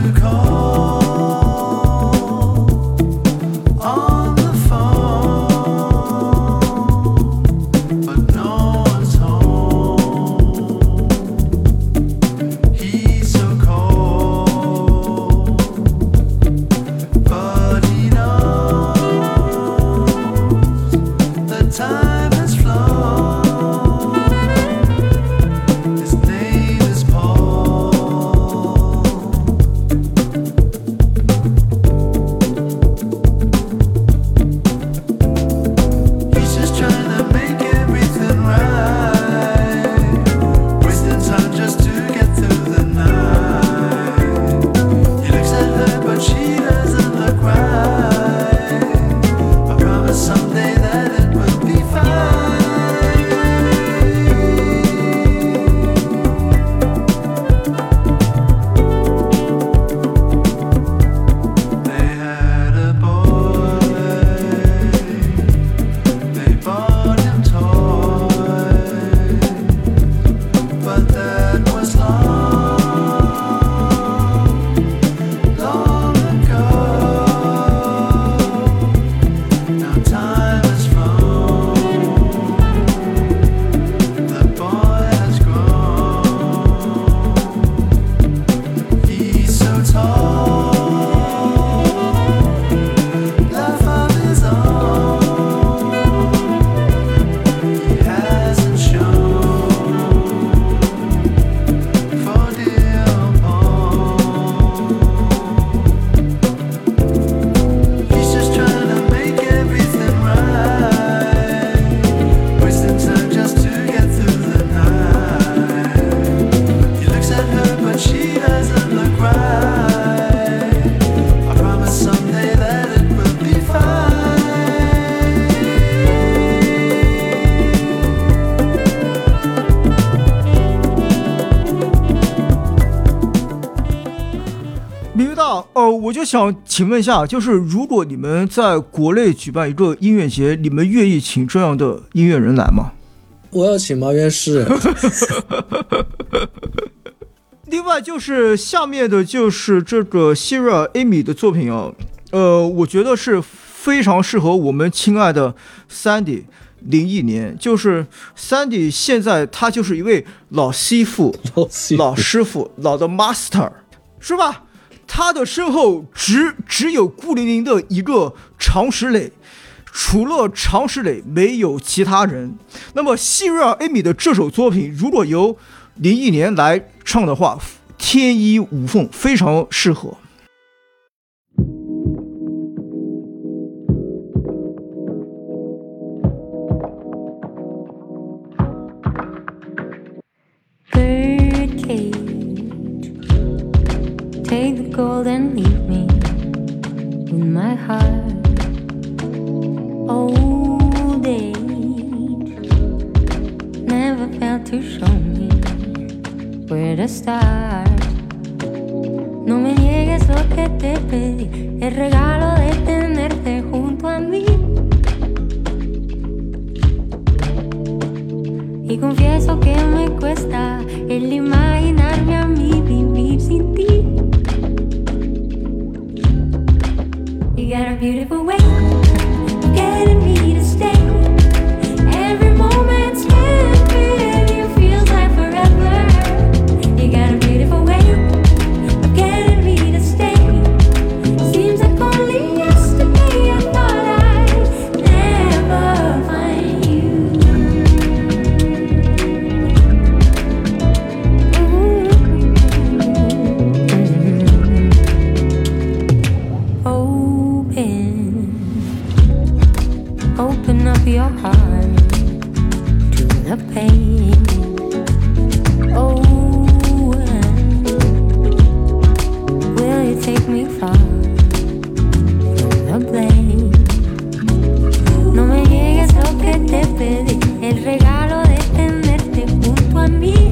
On the phone 明大，呃，我就想请问一下，就是如果你们在国内举办一个音乐节，你们愿意请这样的音乐人来吗？ 我要请麻原氏。 另外就是下面的就是这个 Sierra Amy 的作品啊，呃，我觉得是非常适合我们亲爱的 Sandy 零一年，就是 Sandy 现在他就是一位老媳妇、 老媳妇、 老师傅、老的 master， 是吧？他的身后只只有孤零零的一个常石磊，除了常石磊没有其他人。那么希瑞尔艾米的这首作品如果由林忆莲来唱的话，天衣无缝，非常适合。 Take the gold and leave me with my heart. Old age never failed to show me where to start. No me niegues lo que te pedí, el regalo de tenerte junto a mí. Y confieso que me cuesta el imaginarme a mí vivir sin ti.You got a beautiful way of getting me to stay. Every moment spent with you feels like forever. You got a beautiful way of getting me to stay. Seems like only yesterday I thought I'd never find you. Open up your heart to the pain. Oh, will you take me far from the blame? No me niegues lo que te pedí, el regalo de tenerte junto a mí.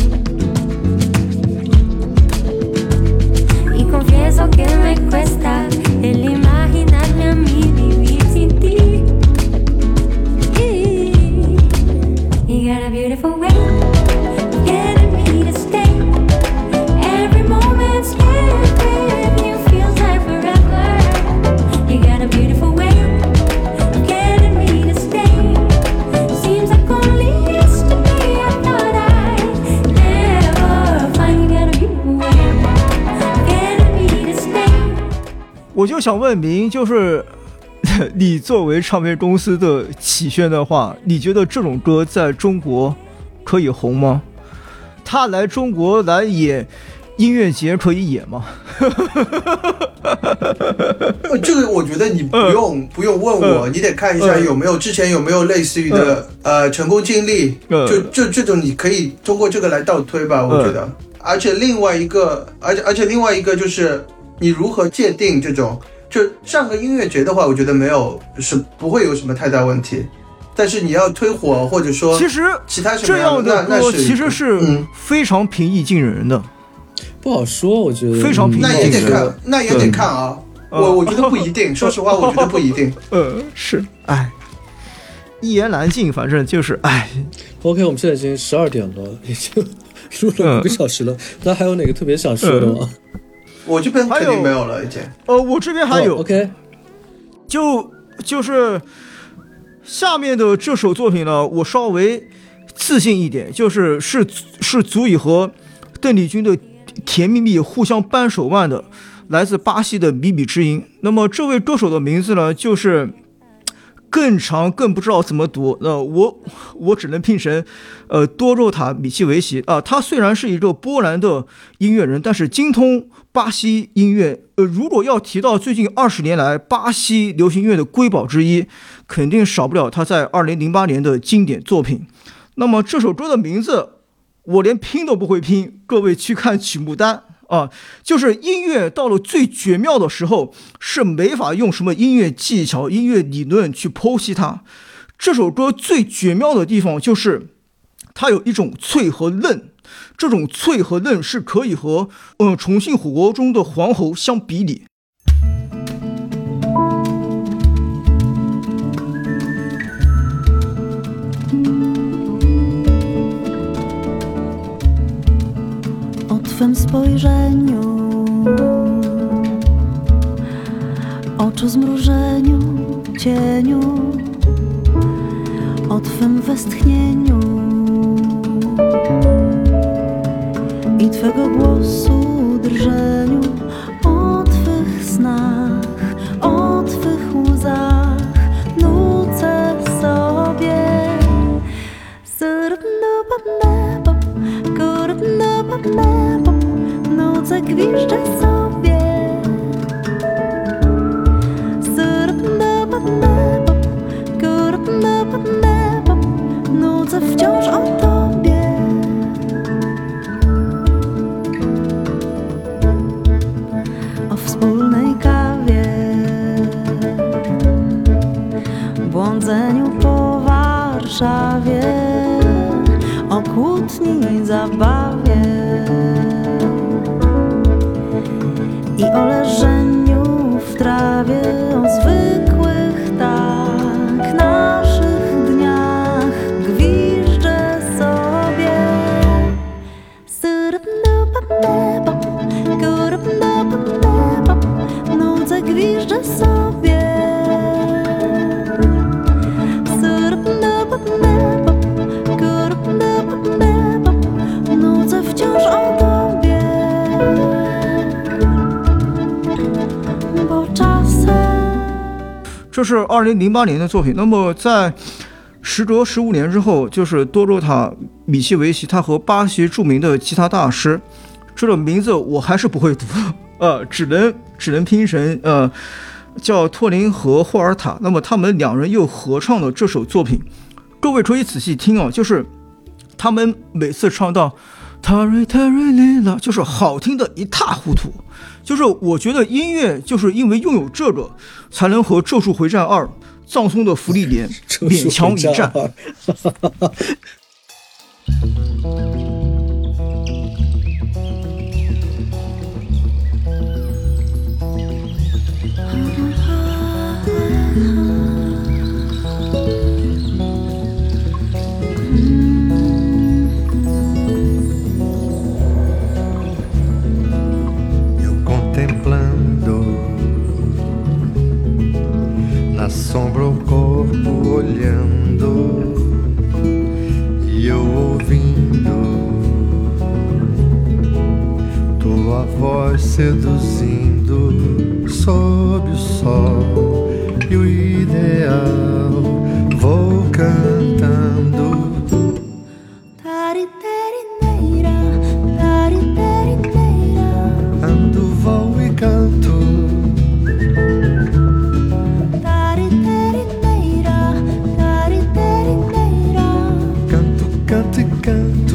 Y confieso que me cuesta el imaginarme a mí vivir sin ti.You got a beautiful way of getting me to stay. Every moment spent with you feels like forever. You got a beautiful way of getting me to stay. Seems like only yesterday I thought I'd never find. You got a beautiful way of getting me to stay. 我就想问明，就是你作为唱片公司的启轩的话，你觉得这种歌在中国可以红吗？他来中国来演音乐节可以演吗？ 这个我觉得你不用、嗯、不用问我、嗯、你得看一下有没有、嗯、之前有没有类似于的、嗯、呃成功经历、嗯、就就这种你可以通过这个来倒推吧，我觉得、嗯、而且另外一个而且而且另外一个就是你如何界定这种，就上个音乐节的话，我觉得没有是不会有什么太大问题。但是你要推火，或者说其实其他什么这样的歌其实是非常平易近人的， 嗯、不好说，我觉得非常平易近人。 那也得看，那也得看啊。我我觉得不一定，说实话，我觉得不一定。 呃，是，哎，一言难尽，反正就是，哎。 OK， 我们现在已经十二点了，已经录了五个小时了。那、嗯、还有哪个特别想说的吗？嗯我这边肯定没有了，已经。 呃，我这边还有。 Oh, OK， 就就是下面的这首作品呢，我稍微自信一点，就是是是足以和邓丽君的《甜蜜蜜》互相扳手腕的，来自巴西的米米之音。那么这位歌手的名字呢，就是更长更不知道怎么读，那、呃、我我只能拼成呃多肉塔米奇维奇啊、呃。他虽然是一个波兰的音乐人，但是精通巴西音乐。呃，如果要提到最近二十年来巴西流行乐的瑰宝之一，肯定少不了他在二零零八年的经典作品。那么这首歌的名字我连拼都不会拼，各位去看曲目单啊，就是音乐到了最绝妙的时候，是没法用什么音乐技巧、音乐理论去剖析它。这首歌最绝妙的地方就是它有一种脆和嫩， 这种脆和嫩是可以和呃重庆火锅中的黄喉相比拟。 O twym spojrzeniu, oczu zmrużeniu, cieniu, o twym westchnieniu i twego głosu drżeniu, o twych snach, o twych łzach nucę sobie. Nucę, gwiżdżę sobie. Nucę wciąż o tobie. O wspólnej kawie, błądzeniu po Warszawie, o kłótni, zabawie i o leżeniu w trawie, o zwykłych tak naszych dniach gwiżdżę sobie. Nucę, gwiżdżę sobie. Nucę wciąż o tobie. Bo czasem 这是二零零八年的作品。那么在时隔十五年之后，就是多洛塔米契维奇，他和巴西著名的吉他大师，这个名字我还是不会读，呃，只能只能拼成呃叫托林和霍尔塔。那么他们两人又合唱了这首作品，各位可以仔细听啊，就是他们每次唱到塔瑞塔瑞丽拉，就是好听的一塌糊涂。就是我觉得音乐就是因为拥有这个，才能和《咒术回战二》葬送的芙莉莲勉强一战。 Na sombra o corpo olhando e eu ouvindo tua voz seduzindo sob o sol e o ideal vou cantando. Ando, vou e canto. Canto e canto.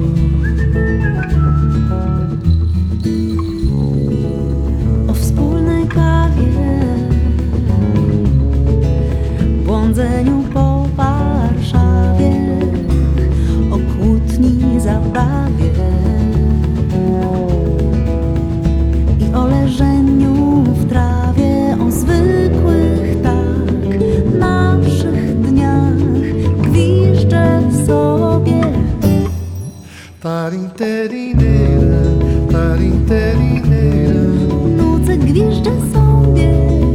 o wspólnej kawie, błądzeniu po Warszawie, o kłótni, zabawie i o leżeniu w trawie, o zwykłych tak naszych dniach gwiżdżę sobie. Tarinterinera, tarinterinera. Nucę, gwiżdżę sobie.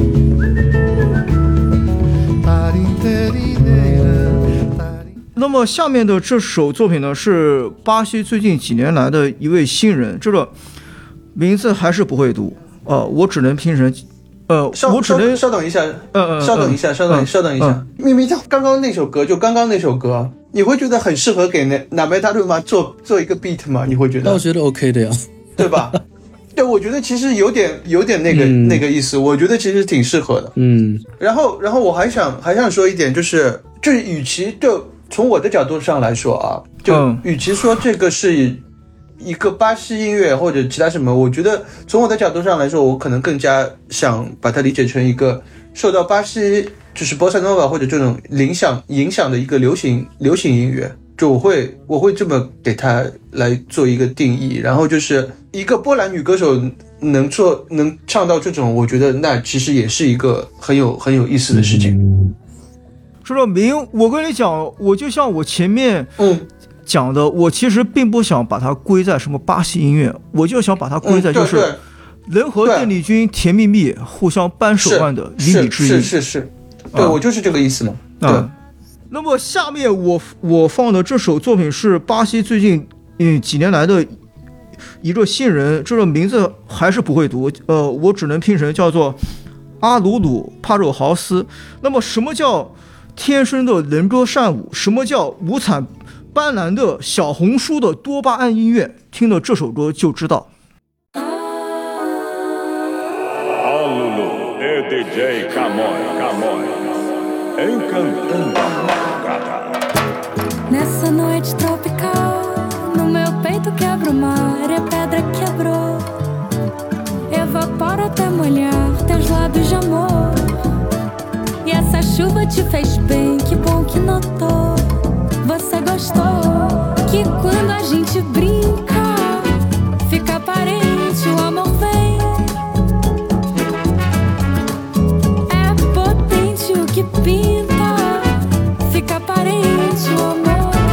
Tarinterinera. 那么下面的这首作品呢，是巴西最近几年来的一位新人，这个名字还是不会读，呃，我只能拼成，呃，我只能稍等一下， 呃， 稍等一下，稍等，稍等一下。明明他刚刚那首歌，就刚刚那首歌，你会觉得很适合给那纳梅达鲁玛做做一个 beat 吗？你会觉得？ 那我觉得 OK 的呀， 对吧？对，我觉得其实有点有点那个、嗯、那个意思，我觉得其实挺适合的。 嗯， 然后然后我还想还想说一点，就是就是与其就从我的角度上来说啊，就与其说这个是一个巴西音乐或者其他什么，我觉得从我的角度上来说，我可能更加想把它理解成一个受到巴西就是波萨诺瓦或者这种影响影响的一个流行流行音乐。 就我会我会这么给它来做一个定义。然后就是一个波兰女歌手能做能唱到这种，我觉得那其实也是一个很有很有意思的事情。 嗯， 说到明，我跟你讲，我就像我前面嗯讲的，我其实并不想把它归在什么巴西音乐，我就想把它归在就是人和邓丽君甜蜜蜜互相扳手腕的靡靡之音。 是是是，对、啊、我就是这个意思嘛。对。啊， 那么下面我我放的这首作品是巴西最近嗯几年来的一个新人，这个名字还是不会读，呃，我只能拼成叫做阿鲁鲁帕肉豪斯。那么什么叫天生的人歌善舞？什么叫五彩斑斓的小红书的多巴胺音乐？听了这首歌就知道。 阿鲁鲁 D J Camões Camões encantando a Nessa noite tropical, no meu peito quebra o mar e a pedra quebrou. Evapora até molhar teus lábios de amor. E essa chuva te fez bem, que bom que notou. Você gostou que quando a gente brinca, fica aparente, o amor vem. É potente o que pinta, fica aparente, o amor.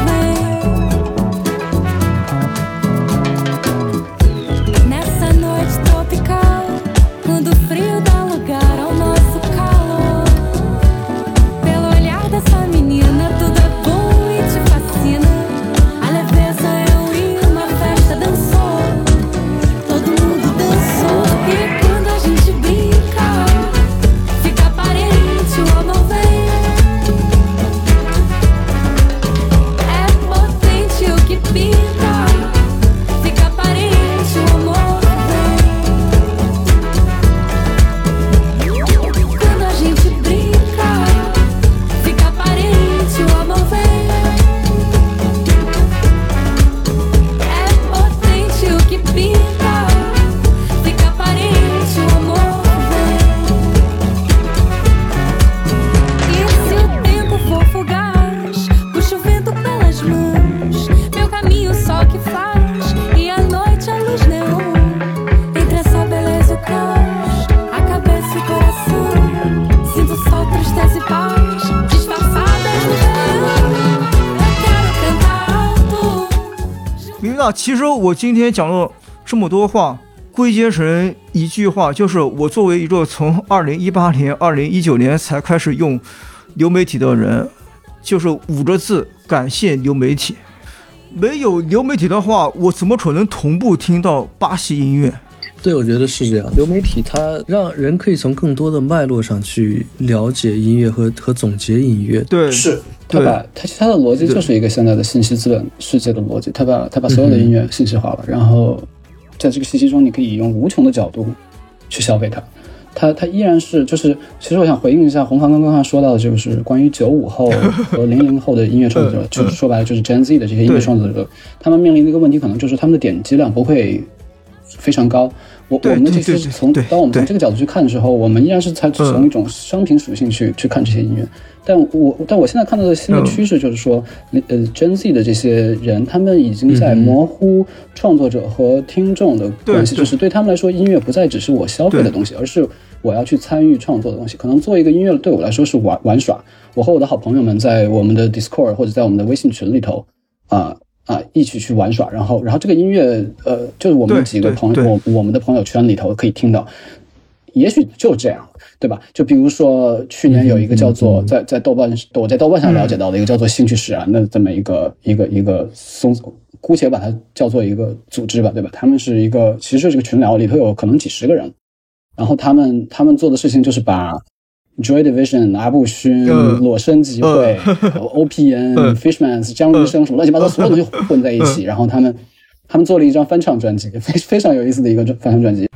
那其实我今天讲了这么多话，归结成一句话，就是我作为一个从二零一八年、二零一九年才开始用流媒体的人，就是五个字：感谢流媒体。没有流媒体的话，我怎么可能同步听到巴西音乐？ 对，我觉得是这样。流媒体它让人可以从更多的脉络上去了解音乐和和总结音乐。 对， 是。 他把他他的逻辑就是一个现在的信息资本世界的逻辑，他把他把所有的音乐信息化了，嗯、然后在这个信息中，你可以用无穷的角度去消费它。他他依然是就是，其实我想回应一下红房刚刚说到的，就是关于九五后和零零后的音乐创作者，就是说白了就是 Gen Z 的这些音乐创作者，他们面临的一个问题，可能就是他们的点击量不会非常高。我我们其实从当我们从这个角度去看的时候，我们依然是采取从一种商品属性去去看这些音乐。但我但我现在看到的新的趋势就是说，呃 Gen Z 的这些人，他们已经在模糊创作者和听众的关系，就是对他们来说，音乐不再只是我消费的东西，而是我要去参与创作的东西。可能做一个音乐对我来说是玩玩耍，我和我的好朋友们在我们的 Discord 或者在我们的微信群里头啊。呃啊，一起去玩耍，然后，然后这个音乐，呃，就是我们几个朋友，我我们的朋友圈里头可以听到，也许就这样，对吧？就比如说去年有一个叫做、嗯、在在豆瓣，我在豆瓣上了解到的一个叫做兴趣使然的这么一个一个一个松，姑且把它叫做一个组织吧，对吧？他们是一个，其实这个群聊里头有可能几十个人，然后他们他们做的事情就是把Joy Division、阿布勋、呃、裸身集会、呃、O P N、Fishmans、江医生什么乱七八糟所有东西混在一起，然后他们他们做了一张翻唱专辑，非非常有意思的一个翻唱专辑。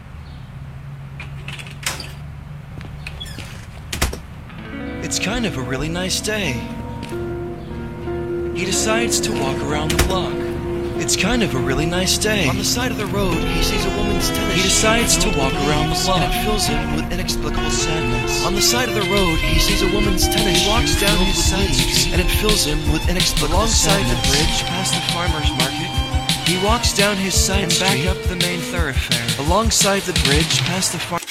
It's kind of a really nice day. He decides to walk around the block. It's kind of a really nice day. On the side of the road, he sees a woman's tennis. He decides to walk around the block. And it fills him with inexplicable sadness. On the side of the road, he sees a woman's tennis. He walks down his sides, and it fills him with inexplicable Alongside sadness. the bridge, past the farmer's market, He walks down his side and street, back up the main thoroughfare. alongside the bridge, past the farm.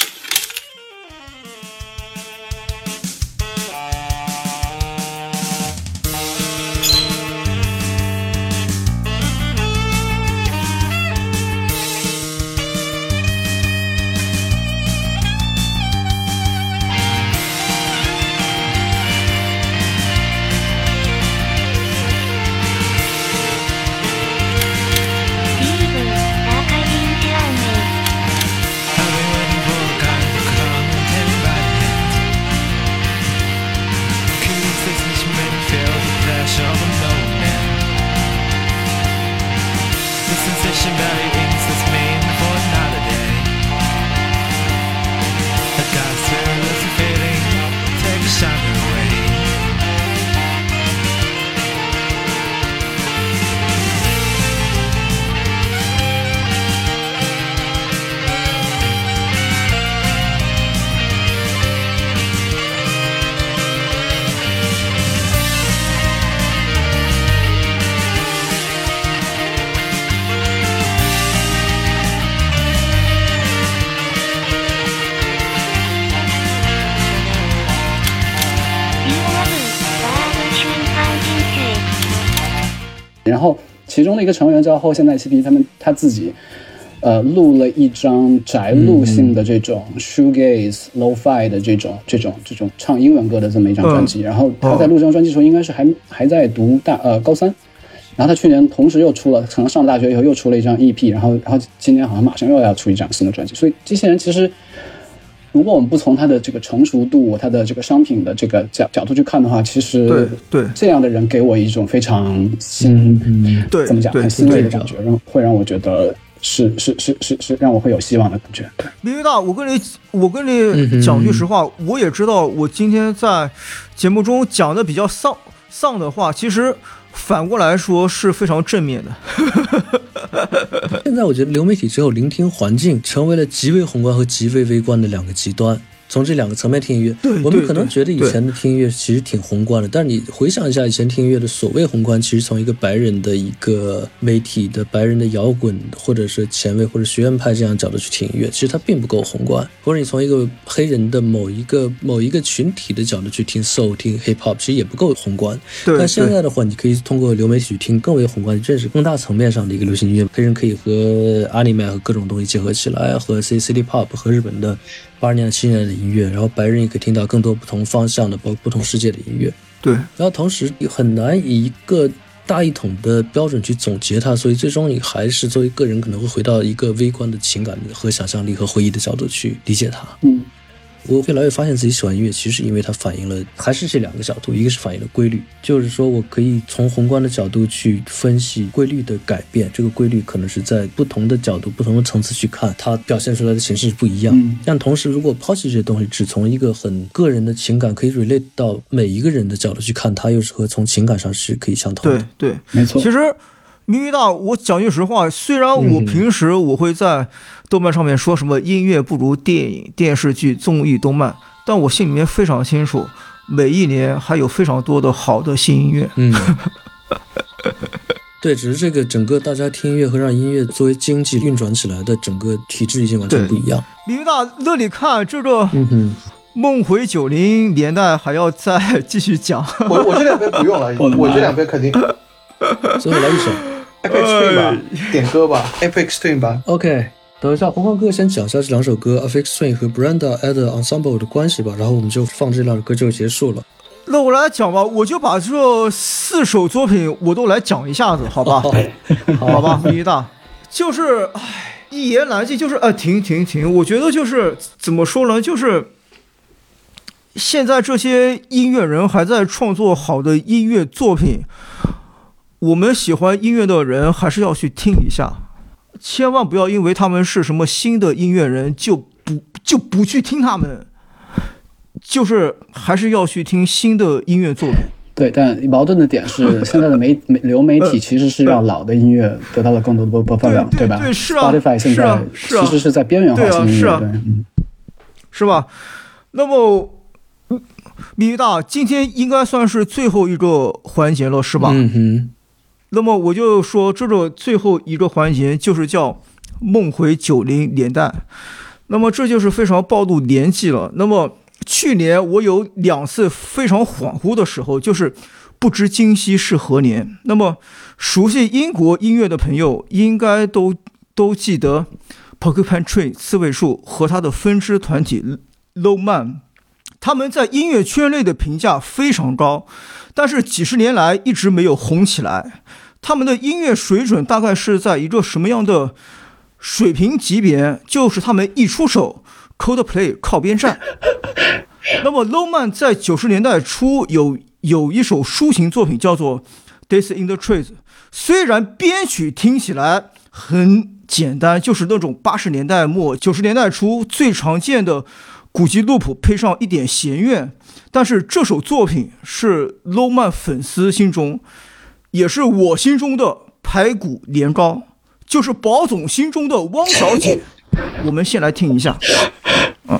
然后其中的一个成员叫后现代嬉皮，他们他自己呃录了一张宅录性的这种 shoegaze lo-fi 的这种这种这种唱英文歌的这么一张专辑。然后他在录这张专辑的时候应该是还还在读大呃高三，然后他去年同时又出了，可能上了大学以后又出了一张 E P， 然后然后今年好像马上又要出一张新的专辑。所以这些人其实如果我们不从他的这个成熟度、他的这个商品的这个角角度去看的话，其实对对这样的人给我一种非常欣， 嗯，对， 怎么讲，很欣慰的感觉，让会让我觉得是是是是是让我会有希望的感觉。对， 明大，我跟你我跟你讲句实话，嗯、我也知道我今天在节目中讲的比较丧丧的话，其实反过来说是非常正面的。 现在我觉得流媒体只有聆听环境成为了极为宏观和极为微观的两个极端。从这两个层面听音乐，我们可能觉得以前的听音乐其实挺宏观的，但是你回想一下以前听音乐的所谓宏观，其实从一个白人的一个媒体的白人的摇滚或者是前卫或者学院派这样角度去听音乐，其实它并不够宏观。或者你从一个黑人的某一个某一个群体的角度去听 soul 听 hip hop， 其实也不够宏观。但现在的话，你可以通过流媒体去听更为宏观，认识更大层面上的一个流行音乐。黑人可以和 anime 和各种东西结合起来，和 city pop 和日本的八十年代七十年代的音乐，然后白人也可以听到更多不同方向的包括不同世界的音乐。 对， 然后同时很难以一个大一统的标准去总结它，所以最终你还是作为个人可能会回到一个微观的情感和想象力和回忆的角度去理解它。 嗯， 我越来越发现自己喜欢音乐，其实因为它反映了还是这两个角度，一个是反映了规律，就是说我可以从宏观的角度去分析规律的改变，这个规律可能是在不同的角度不同的层次去看，它表现出来的形式不一样。 嗯， 但同时如果抛弃这些东西，只从一个很个人的情感可以 relate 到每一个人的角度去看，它又是和从情感上是可以相同的。 对对， 没错。 其实明明大，我讲句实话，虽然我平时我会在豆瓣上面说什么音乐不如电影、电视剧、综艺、动漫，但我心里面非常清楚，每一年还有非常多的好的新音乐。 嗯，对，只是这个整个大家听音乐和让音乐作为经济运转起来的整个体制已经完全不一样。 明明大，那你看这个， 嗯哼。 梦回九零年代还要再继续讲， 我我这两杯不用了，我这两杯肯定。 最后来一首 Apex Twin 吧，点歌吧 ，Apex Twin 吧。 OK， 等一下，红光哥先讲一下这两首歌 Apex Twin 和 Brenda Adder Ensemble 的关系吧，然后我们就放这两首歌就结束了。 那我来讲吧，我就把这四首作品我都来讲一下子，好吧？好, 好吧，明大，就是唉，一言难尽，就是呃，停停停，我觉得就是怎么说呢，就是。现在这些音乐人还在创作好的音乐作品，我们喜欢音乐的人还是要去听一下，千万不要因为他们是什么新的音乐人就不就不去听他们，就是还是要去听新的音乐作品。 对，但矛盾的点是，现在的媒流媒体其实是让老的音乐得到了更多的播播放量， 对吧？ 对，是啊 ，Spotify 现在其实是在边缘化新音乐， 对啊， 对，嗯， 是吧？那么，米大，今天应该算是最后一个环节了，是吧？ 嗯哼。 那么我就说，这个最后一个环节就是叫梦回九零年代。那么这就是非常暴露年纪了。那么去年我有两次非常恍惚的时候，就是不知今夕是何年。那么熟悉英国音乐的朋友应该都都记得 Porcupine Tree 刺猬树和他的分支团体 Low Man， 他们在音乐圈内的评价非常高，但是几十年来一直没有红起来。他们的音乐水准大概是在一个什么样的水平级别？就是他们一出手 Coldplay 靠边站。那么 Low Man 在九十年代初有有一首抒情作品叫做 Days in the Trees， 虽然编曲听起来很简单，就是那种八十年代末九十年代初最常见的古籍录谱配上一点弦乐，但是这首作品是 Low Man 粉丝心中，也是我心中的排骨年糕，就是宝总心中的汪小姐。我们先来听一下，嗯。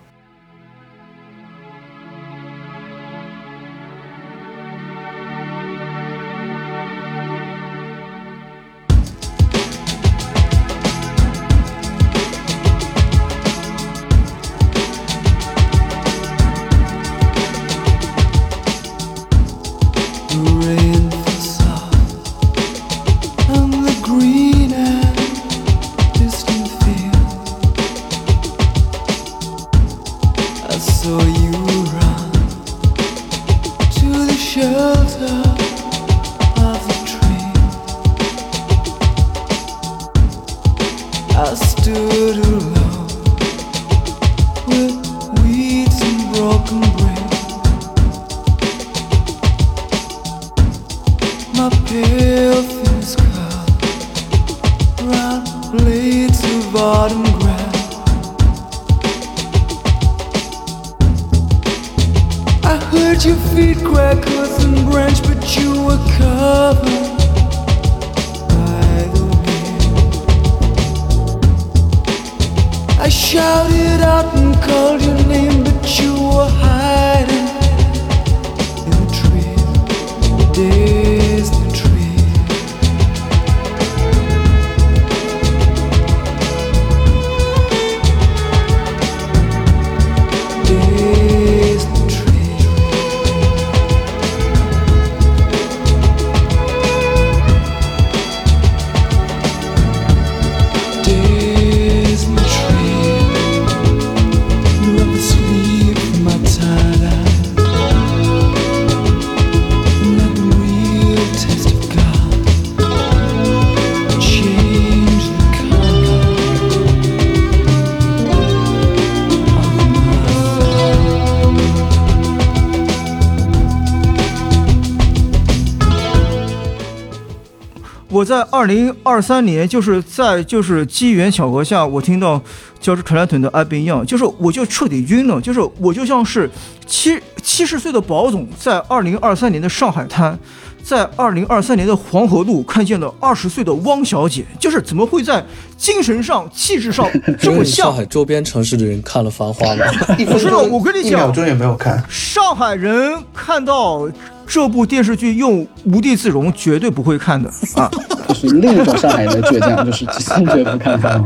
我在二零二三年，就是在就是机缘巧合下，我听到乔治克莱顿的《I Been Young》，就是我就彻底晕了，就是我就像是七七十岁的宝总在二零二三年的上海滩，在二零二三年的黄河路看见了二十岁的汪小姐，就是怎么会在精神上、气质上这么像？ 上海周边城市的人看了《繁花》吗？ 不是的，我跟你讲， 一秒钟也没有看。 上海人看到这部电视剧用无地自容，绝对不会看的啊！ 就是另一种上海人的倔强，就是坚决不看它。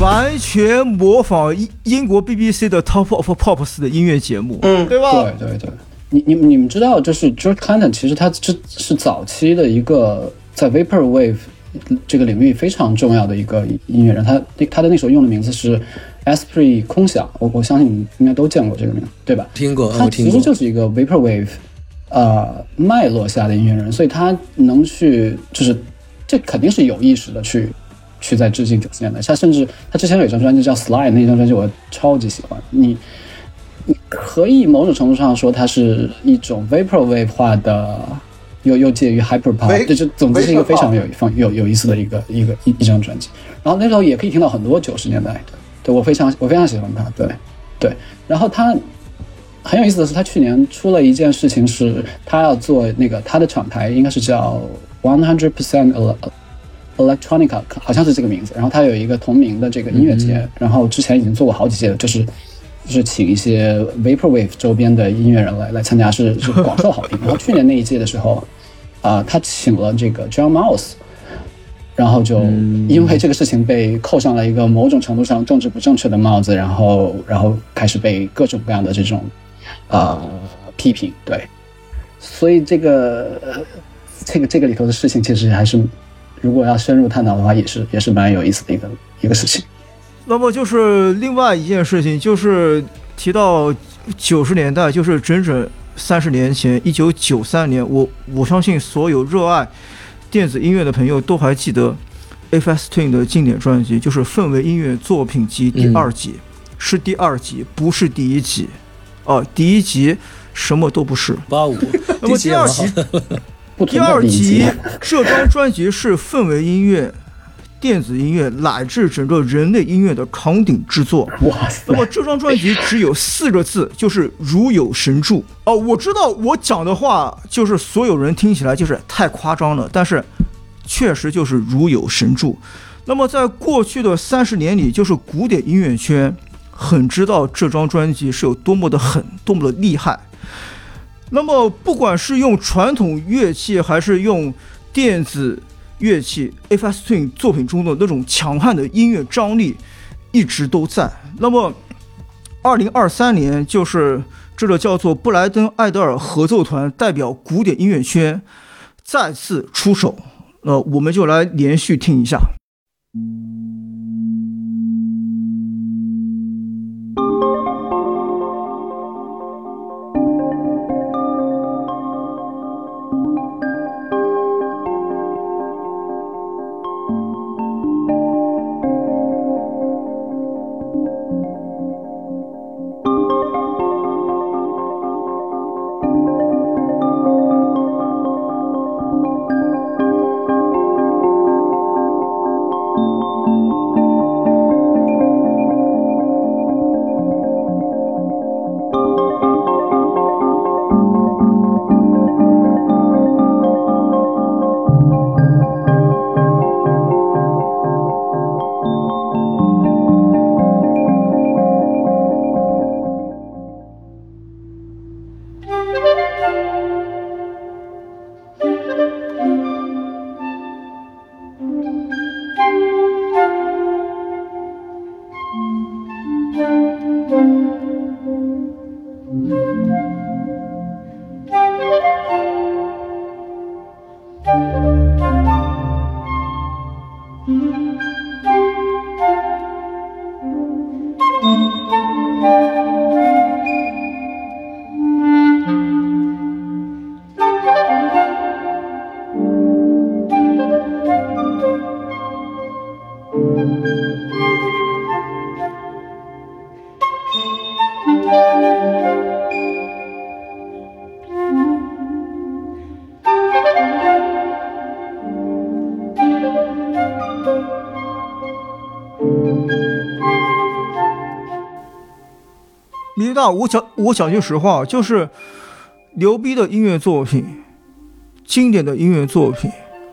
完全模仿英国 B B C 的 Top of Pops 的音乐节目，嗯，对吧？ 对对对，你你你们知道，就是 George Clinton 其实他这是早期的一个在 Vaporwave 这个领域非常重要的一个音乐人，他他的那时候用的名字是 Esprit 空想，我我相信你们应该都见过这个名字，对吧？ 听过， 他其实就是一个 Vaporwave 呃脉络下的音乐人，所以他能去就是这肯定是有意识的去。去在致敬九十年代，他甚至他之前有一张专辑叫《Slide》，那张专辑我超级喜欢。你你可以某种程度上说，它是一种 vaporwave 化的，又又介于 hyperpop， 这就总之是一个非常有有有意思的一个一个一一张专辑。然后那时候也可以听到很多九十年代的，对我非常我非常喜欢他，对对。然后他很有意思的是，他去年出了一件事情，是他要做那个他的厂牌应该是叫 one hundred percent。Electronica 好像是这个名字，然后它有一个同名的这个音乐节，嗯、然后之前已经做过好几届了，就是就是请一些 Vaporwave 周边的音乐人来来参加，是是广受好评。然后去年那一届的时候，啊、呃，他请了这个 John Mouse， 然后就因为这个事情被扣上了一个某种程度上政治不正确的帽子，然后然后开始被各种各样的这种啊、呃、批评，对，所以这个这个这个里头的事情其实还是。如果要深入探讨的话，也是也是蛮有意思的一个一个事情。 那么就是另外一件事情，就是提到九十年代，就是整整三十年前，一九九三年，我我相信所有热爱电子音乐的朋友都还记得 Aphex Twin 的经典专辑，就是氛围音乐作品集第二集，嗯、是第二集，不是第一集。哦、呃，第一集什么都不是。 八五。 那么第二集。第二集这张专辑是氛围音乐、电子音乐乃至整个人类音乐的扛鼎之作。 哇！ 那么这张专辑只有四个字，就是如有神助。哦，我知道我讲的话就是所有人听起来就是太夸张了，但是确实就是如有神助。那么在过去的三十年里，就是古典音乐圈很知道这张专辑是有多么的狠，多么的厉害。那么不管是用传统乐器还是用电子乐器 Aphex Twin 作品中的那种强悍的音乐张力一直都在。那么二零二三年就是这个叫做布莱登艾德尔合奏团代表古典音乐圈再次出手，呃，我们就来连续听一下。米大，我讲我讲句实话，就是牛逼的音乐作品，经典的音乐作品，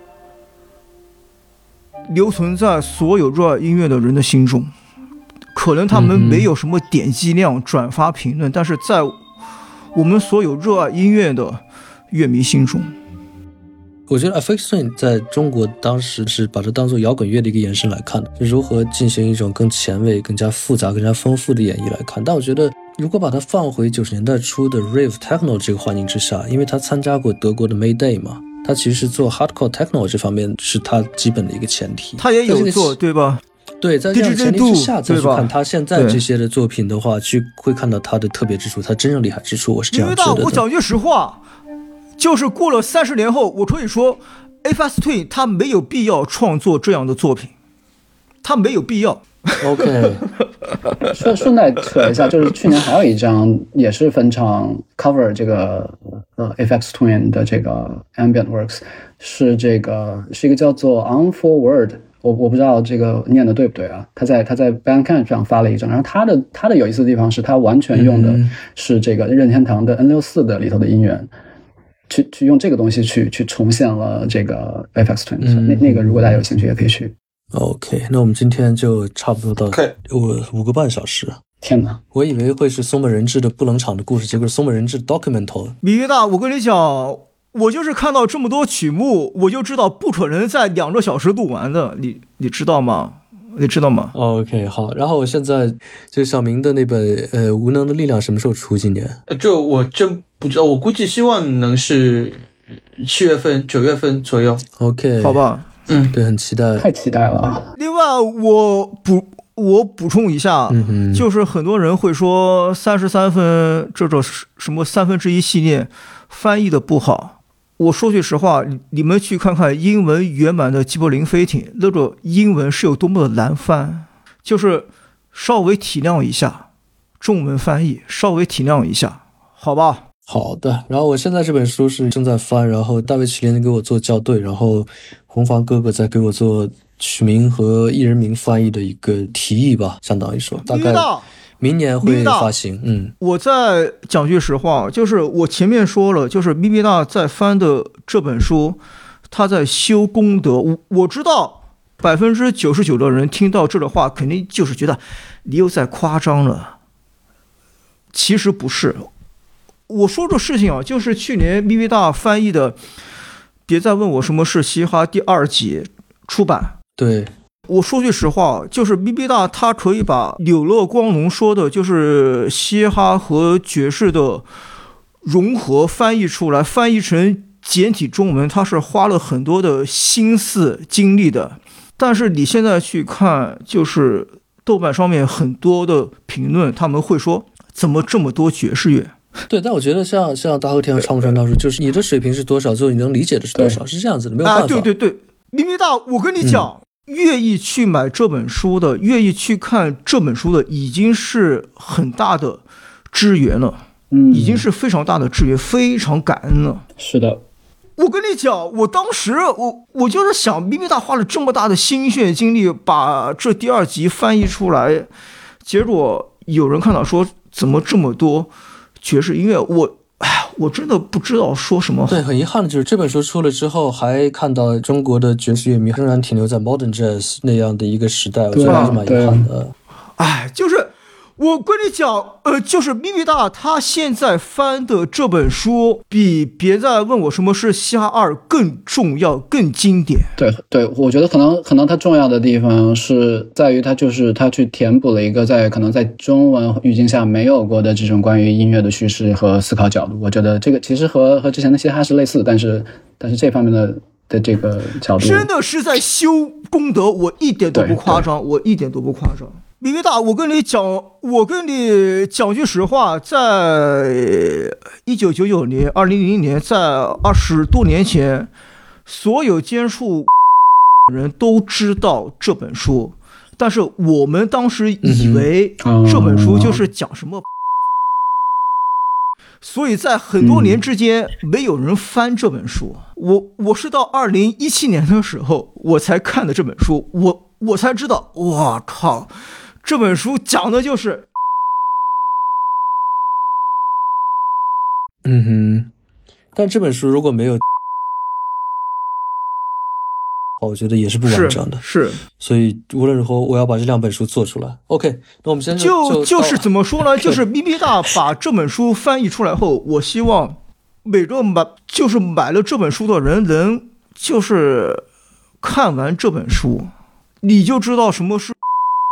留存在所有热爱音乐的人的心中。可能他们没有什么点击量、转发、评论，但是在我们所有热爱音乐的乐迷心中。 我觉得 F X Twin 在中国当时是把它当做摇滚乐的一个延伸来看的，就如何进行一种更前卫、更加复杂、更加丰富的演绎来看。但我觉得如果把它放回九十年代初的 Rave Techno 这个环境之下，因为他参加过德国的 Mayday 嘛，他其实做 Hardcore Techno 这方面是他基本的一个前提。 他也有做，对吧？ 对，在这样的前提之下再去看他现在这些的作品的话，去会看到他的特别之处，他真正厉害之处，我是这样觉得的。 因为我讲句实话，就是过了三十年后，我可以说 F X Twin 他没有必要创作这样的作品，他没有必要。 OK， 顺顺带扯一下，就是去年还有一张也是分场 cover 这个呃 F X Twin 的这个 Ambient Works， 是这个是一个叫做 On Forward。我我不知道这个念的对不对啊？他在他在 Bandcamp 上发了一张，然后他的他的有意思的地方是他完全用的是这个任天堂的 N 六十四 的里头的音源，去去用这个东西去去重现了这个 F X Twin，嗯、那那个如果大家有兴趣也可以去。 OK， 那我们今天就差不多到五五个半小时。 天哪！ 我以为会是松本人志的不冷场的故事，结果是松本人志 documental。 米约大，我跟你讲。我就是看到这么多曲目，我就知道不可能在两个小时录完的，你你知道吗？你知道吗 ？OK， 好。然后我现在就小明的那本呃《无能的力量》什么时候出？今年？ 这我真不知道，我估计希望能是七月份、九月份左右。 OK， 好吧。 嗯，对，很期待， 太期待了。 另外，我补我补充一下， 嗯、 就是很多人会说三十三分这种什么三分之一系列翻译的不好。我说句实话，你们去看看英文原版的《吉柏林飞艇》，那个英文是有多么的难翻，就是稍微体谅一下中文翻译，稍微体谅一下，好吧？ 好的。然后我现在这本书是正在翻，然后大卫齐连给我做校对，然后红房哥哥在给我做曲名和艺人名翻译的一个提议吧，相当于说大概明年会发行。嗯， 我再讲句实话，就是我前面说了，就是咪咪大在翻的这本书，他在修功德。我我知道百分之九十九的人听到这个话，肯定就是觉得你又在夸张了。其实不是，我说这事情啊，就是去年咪咪大翻译的《别再问我什么是嘻哈》第二集出版。 对。 我说句实话，就是咪咪大他可以把柳乐光荣说的就是嘻哈和爵士的融合翻译出来，翻译成简体中文，他是花了很多的心思精力的。但是你现在去看，就是豆瓣上面很多的评论，他们会说怎么这么多爵士乐。 对，但我觉得像像大和田和长木川大叔，就是你的水平是多少，最后你能理解的是多少，是这样子的，没有办法。 啊，对对对，咪咪大，我跟你讲。嗯，愿意去买这本书的，愿意去看这本书的，已经是很大的支援了， 嗯， 已经是非常大的支援，非常感恩了。 是的， 我跟你讲，我当时我我就是想，咪咪大花了这么大的心血精力把这第二集翻译出来，结果有人看到说怎么这么多爵士音乐，我。哎，我真的不知道说什么好。 对，很遗憾的就是这本书出了之后，还看到中国的爵士乐迷仍然停留在 Modern Jazz 那样的一个时代，我觉得还是蛮遗憾的。 哎，就是我跟你讲，呃，就是咪咪大他现在翻的这本书，比别再问我什么是嘻哈二更重要、更经典。 对对，我觉得可能可能它重要的地方是在于它就是它去填补了一个在可能在中文语境下没有过的这种关于音乐的叙事和思考角度。我觉得这个其实和和之前的嘻哈是类似，但是但是这方面的的这个角度真的是在修功德，我一点都不夸张，我一点都不夸张。咪咪大，我跟你讲，我跟你讲句实话，在一九九九年、二零零零年，在二十多年前，所有接触人都知道这本书，但是我们当时以为这本书就是讲什么，嗯、所以在很多年之间，没有人翻这本书。我我是到二零一七年的时候，我才看的这本书，我我才知道，哇靠！这本书讲的就是， 嗯哼，但这本书如果没有，我觉得也是不完整的， 是，是所以无论如何，我要把这两本书做出来。OK， 那我们现在就就就是怎么说呢？就是咪咪大把这本书翻译出来后，我希望每个买就是买了这本书的人能就是看完这本书，你就知道什么是。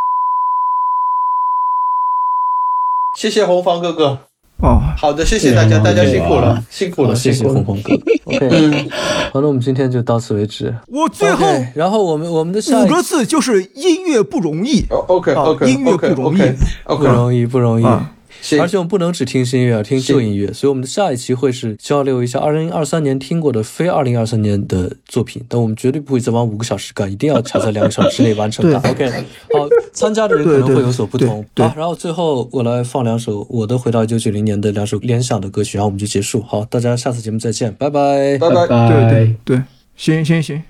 谢谢红房哥哥。 哦， 好的，谢谢大家，大家辛苦了，辛苦了， 谢谢红红哥哥。OK， 嗯， 好，那我们今天就到此为止。 我最后， okay, 然后我们我们的下五个字就是音乐不容易。 哦 ，OK OK， 音乐不容易， 不容易，不容易。 啊而且我们不能只听新音乐，要听旧音乐，所以我们的下一期会是交流一下二零二三年听过的非二零二三年的作品，但我们绝对不会再往五个小时干，一定要卡在两个小时之内完成它。OK， 好，参加的人可能会有所不同。好，然后最后我来放两首我的回到一九九零年的两首联想的歌曲，然后我们就结束。好，大家下次节目再见，拜拜， 拜拜， 对对对，行行行。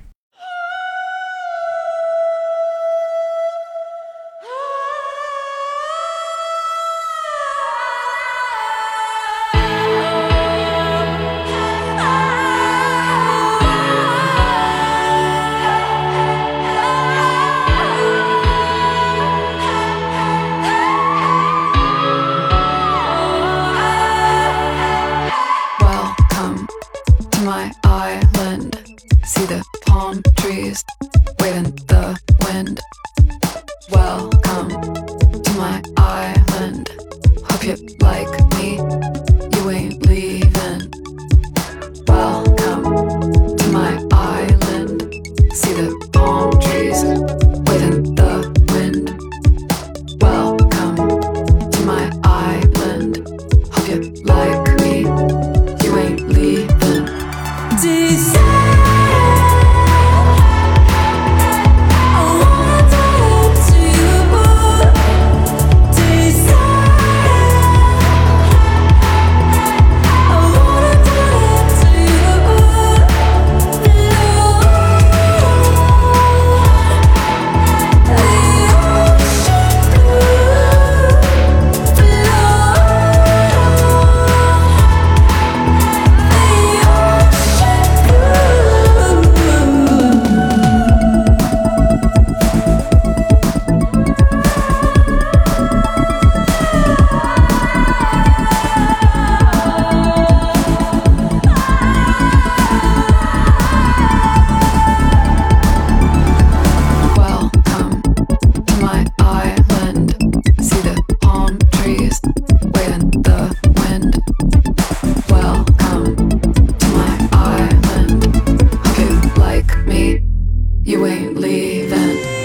You ain't leaving.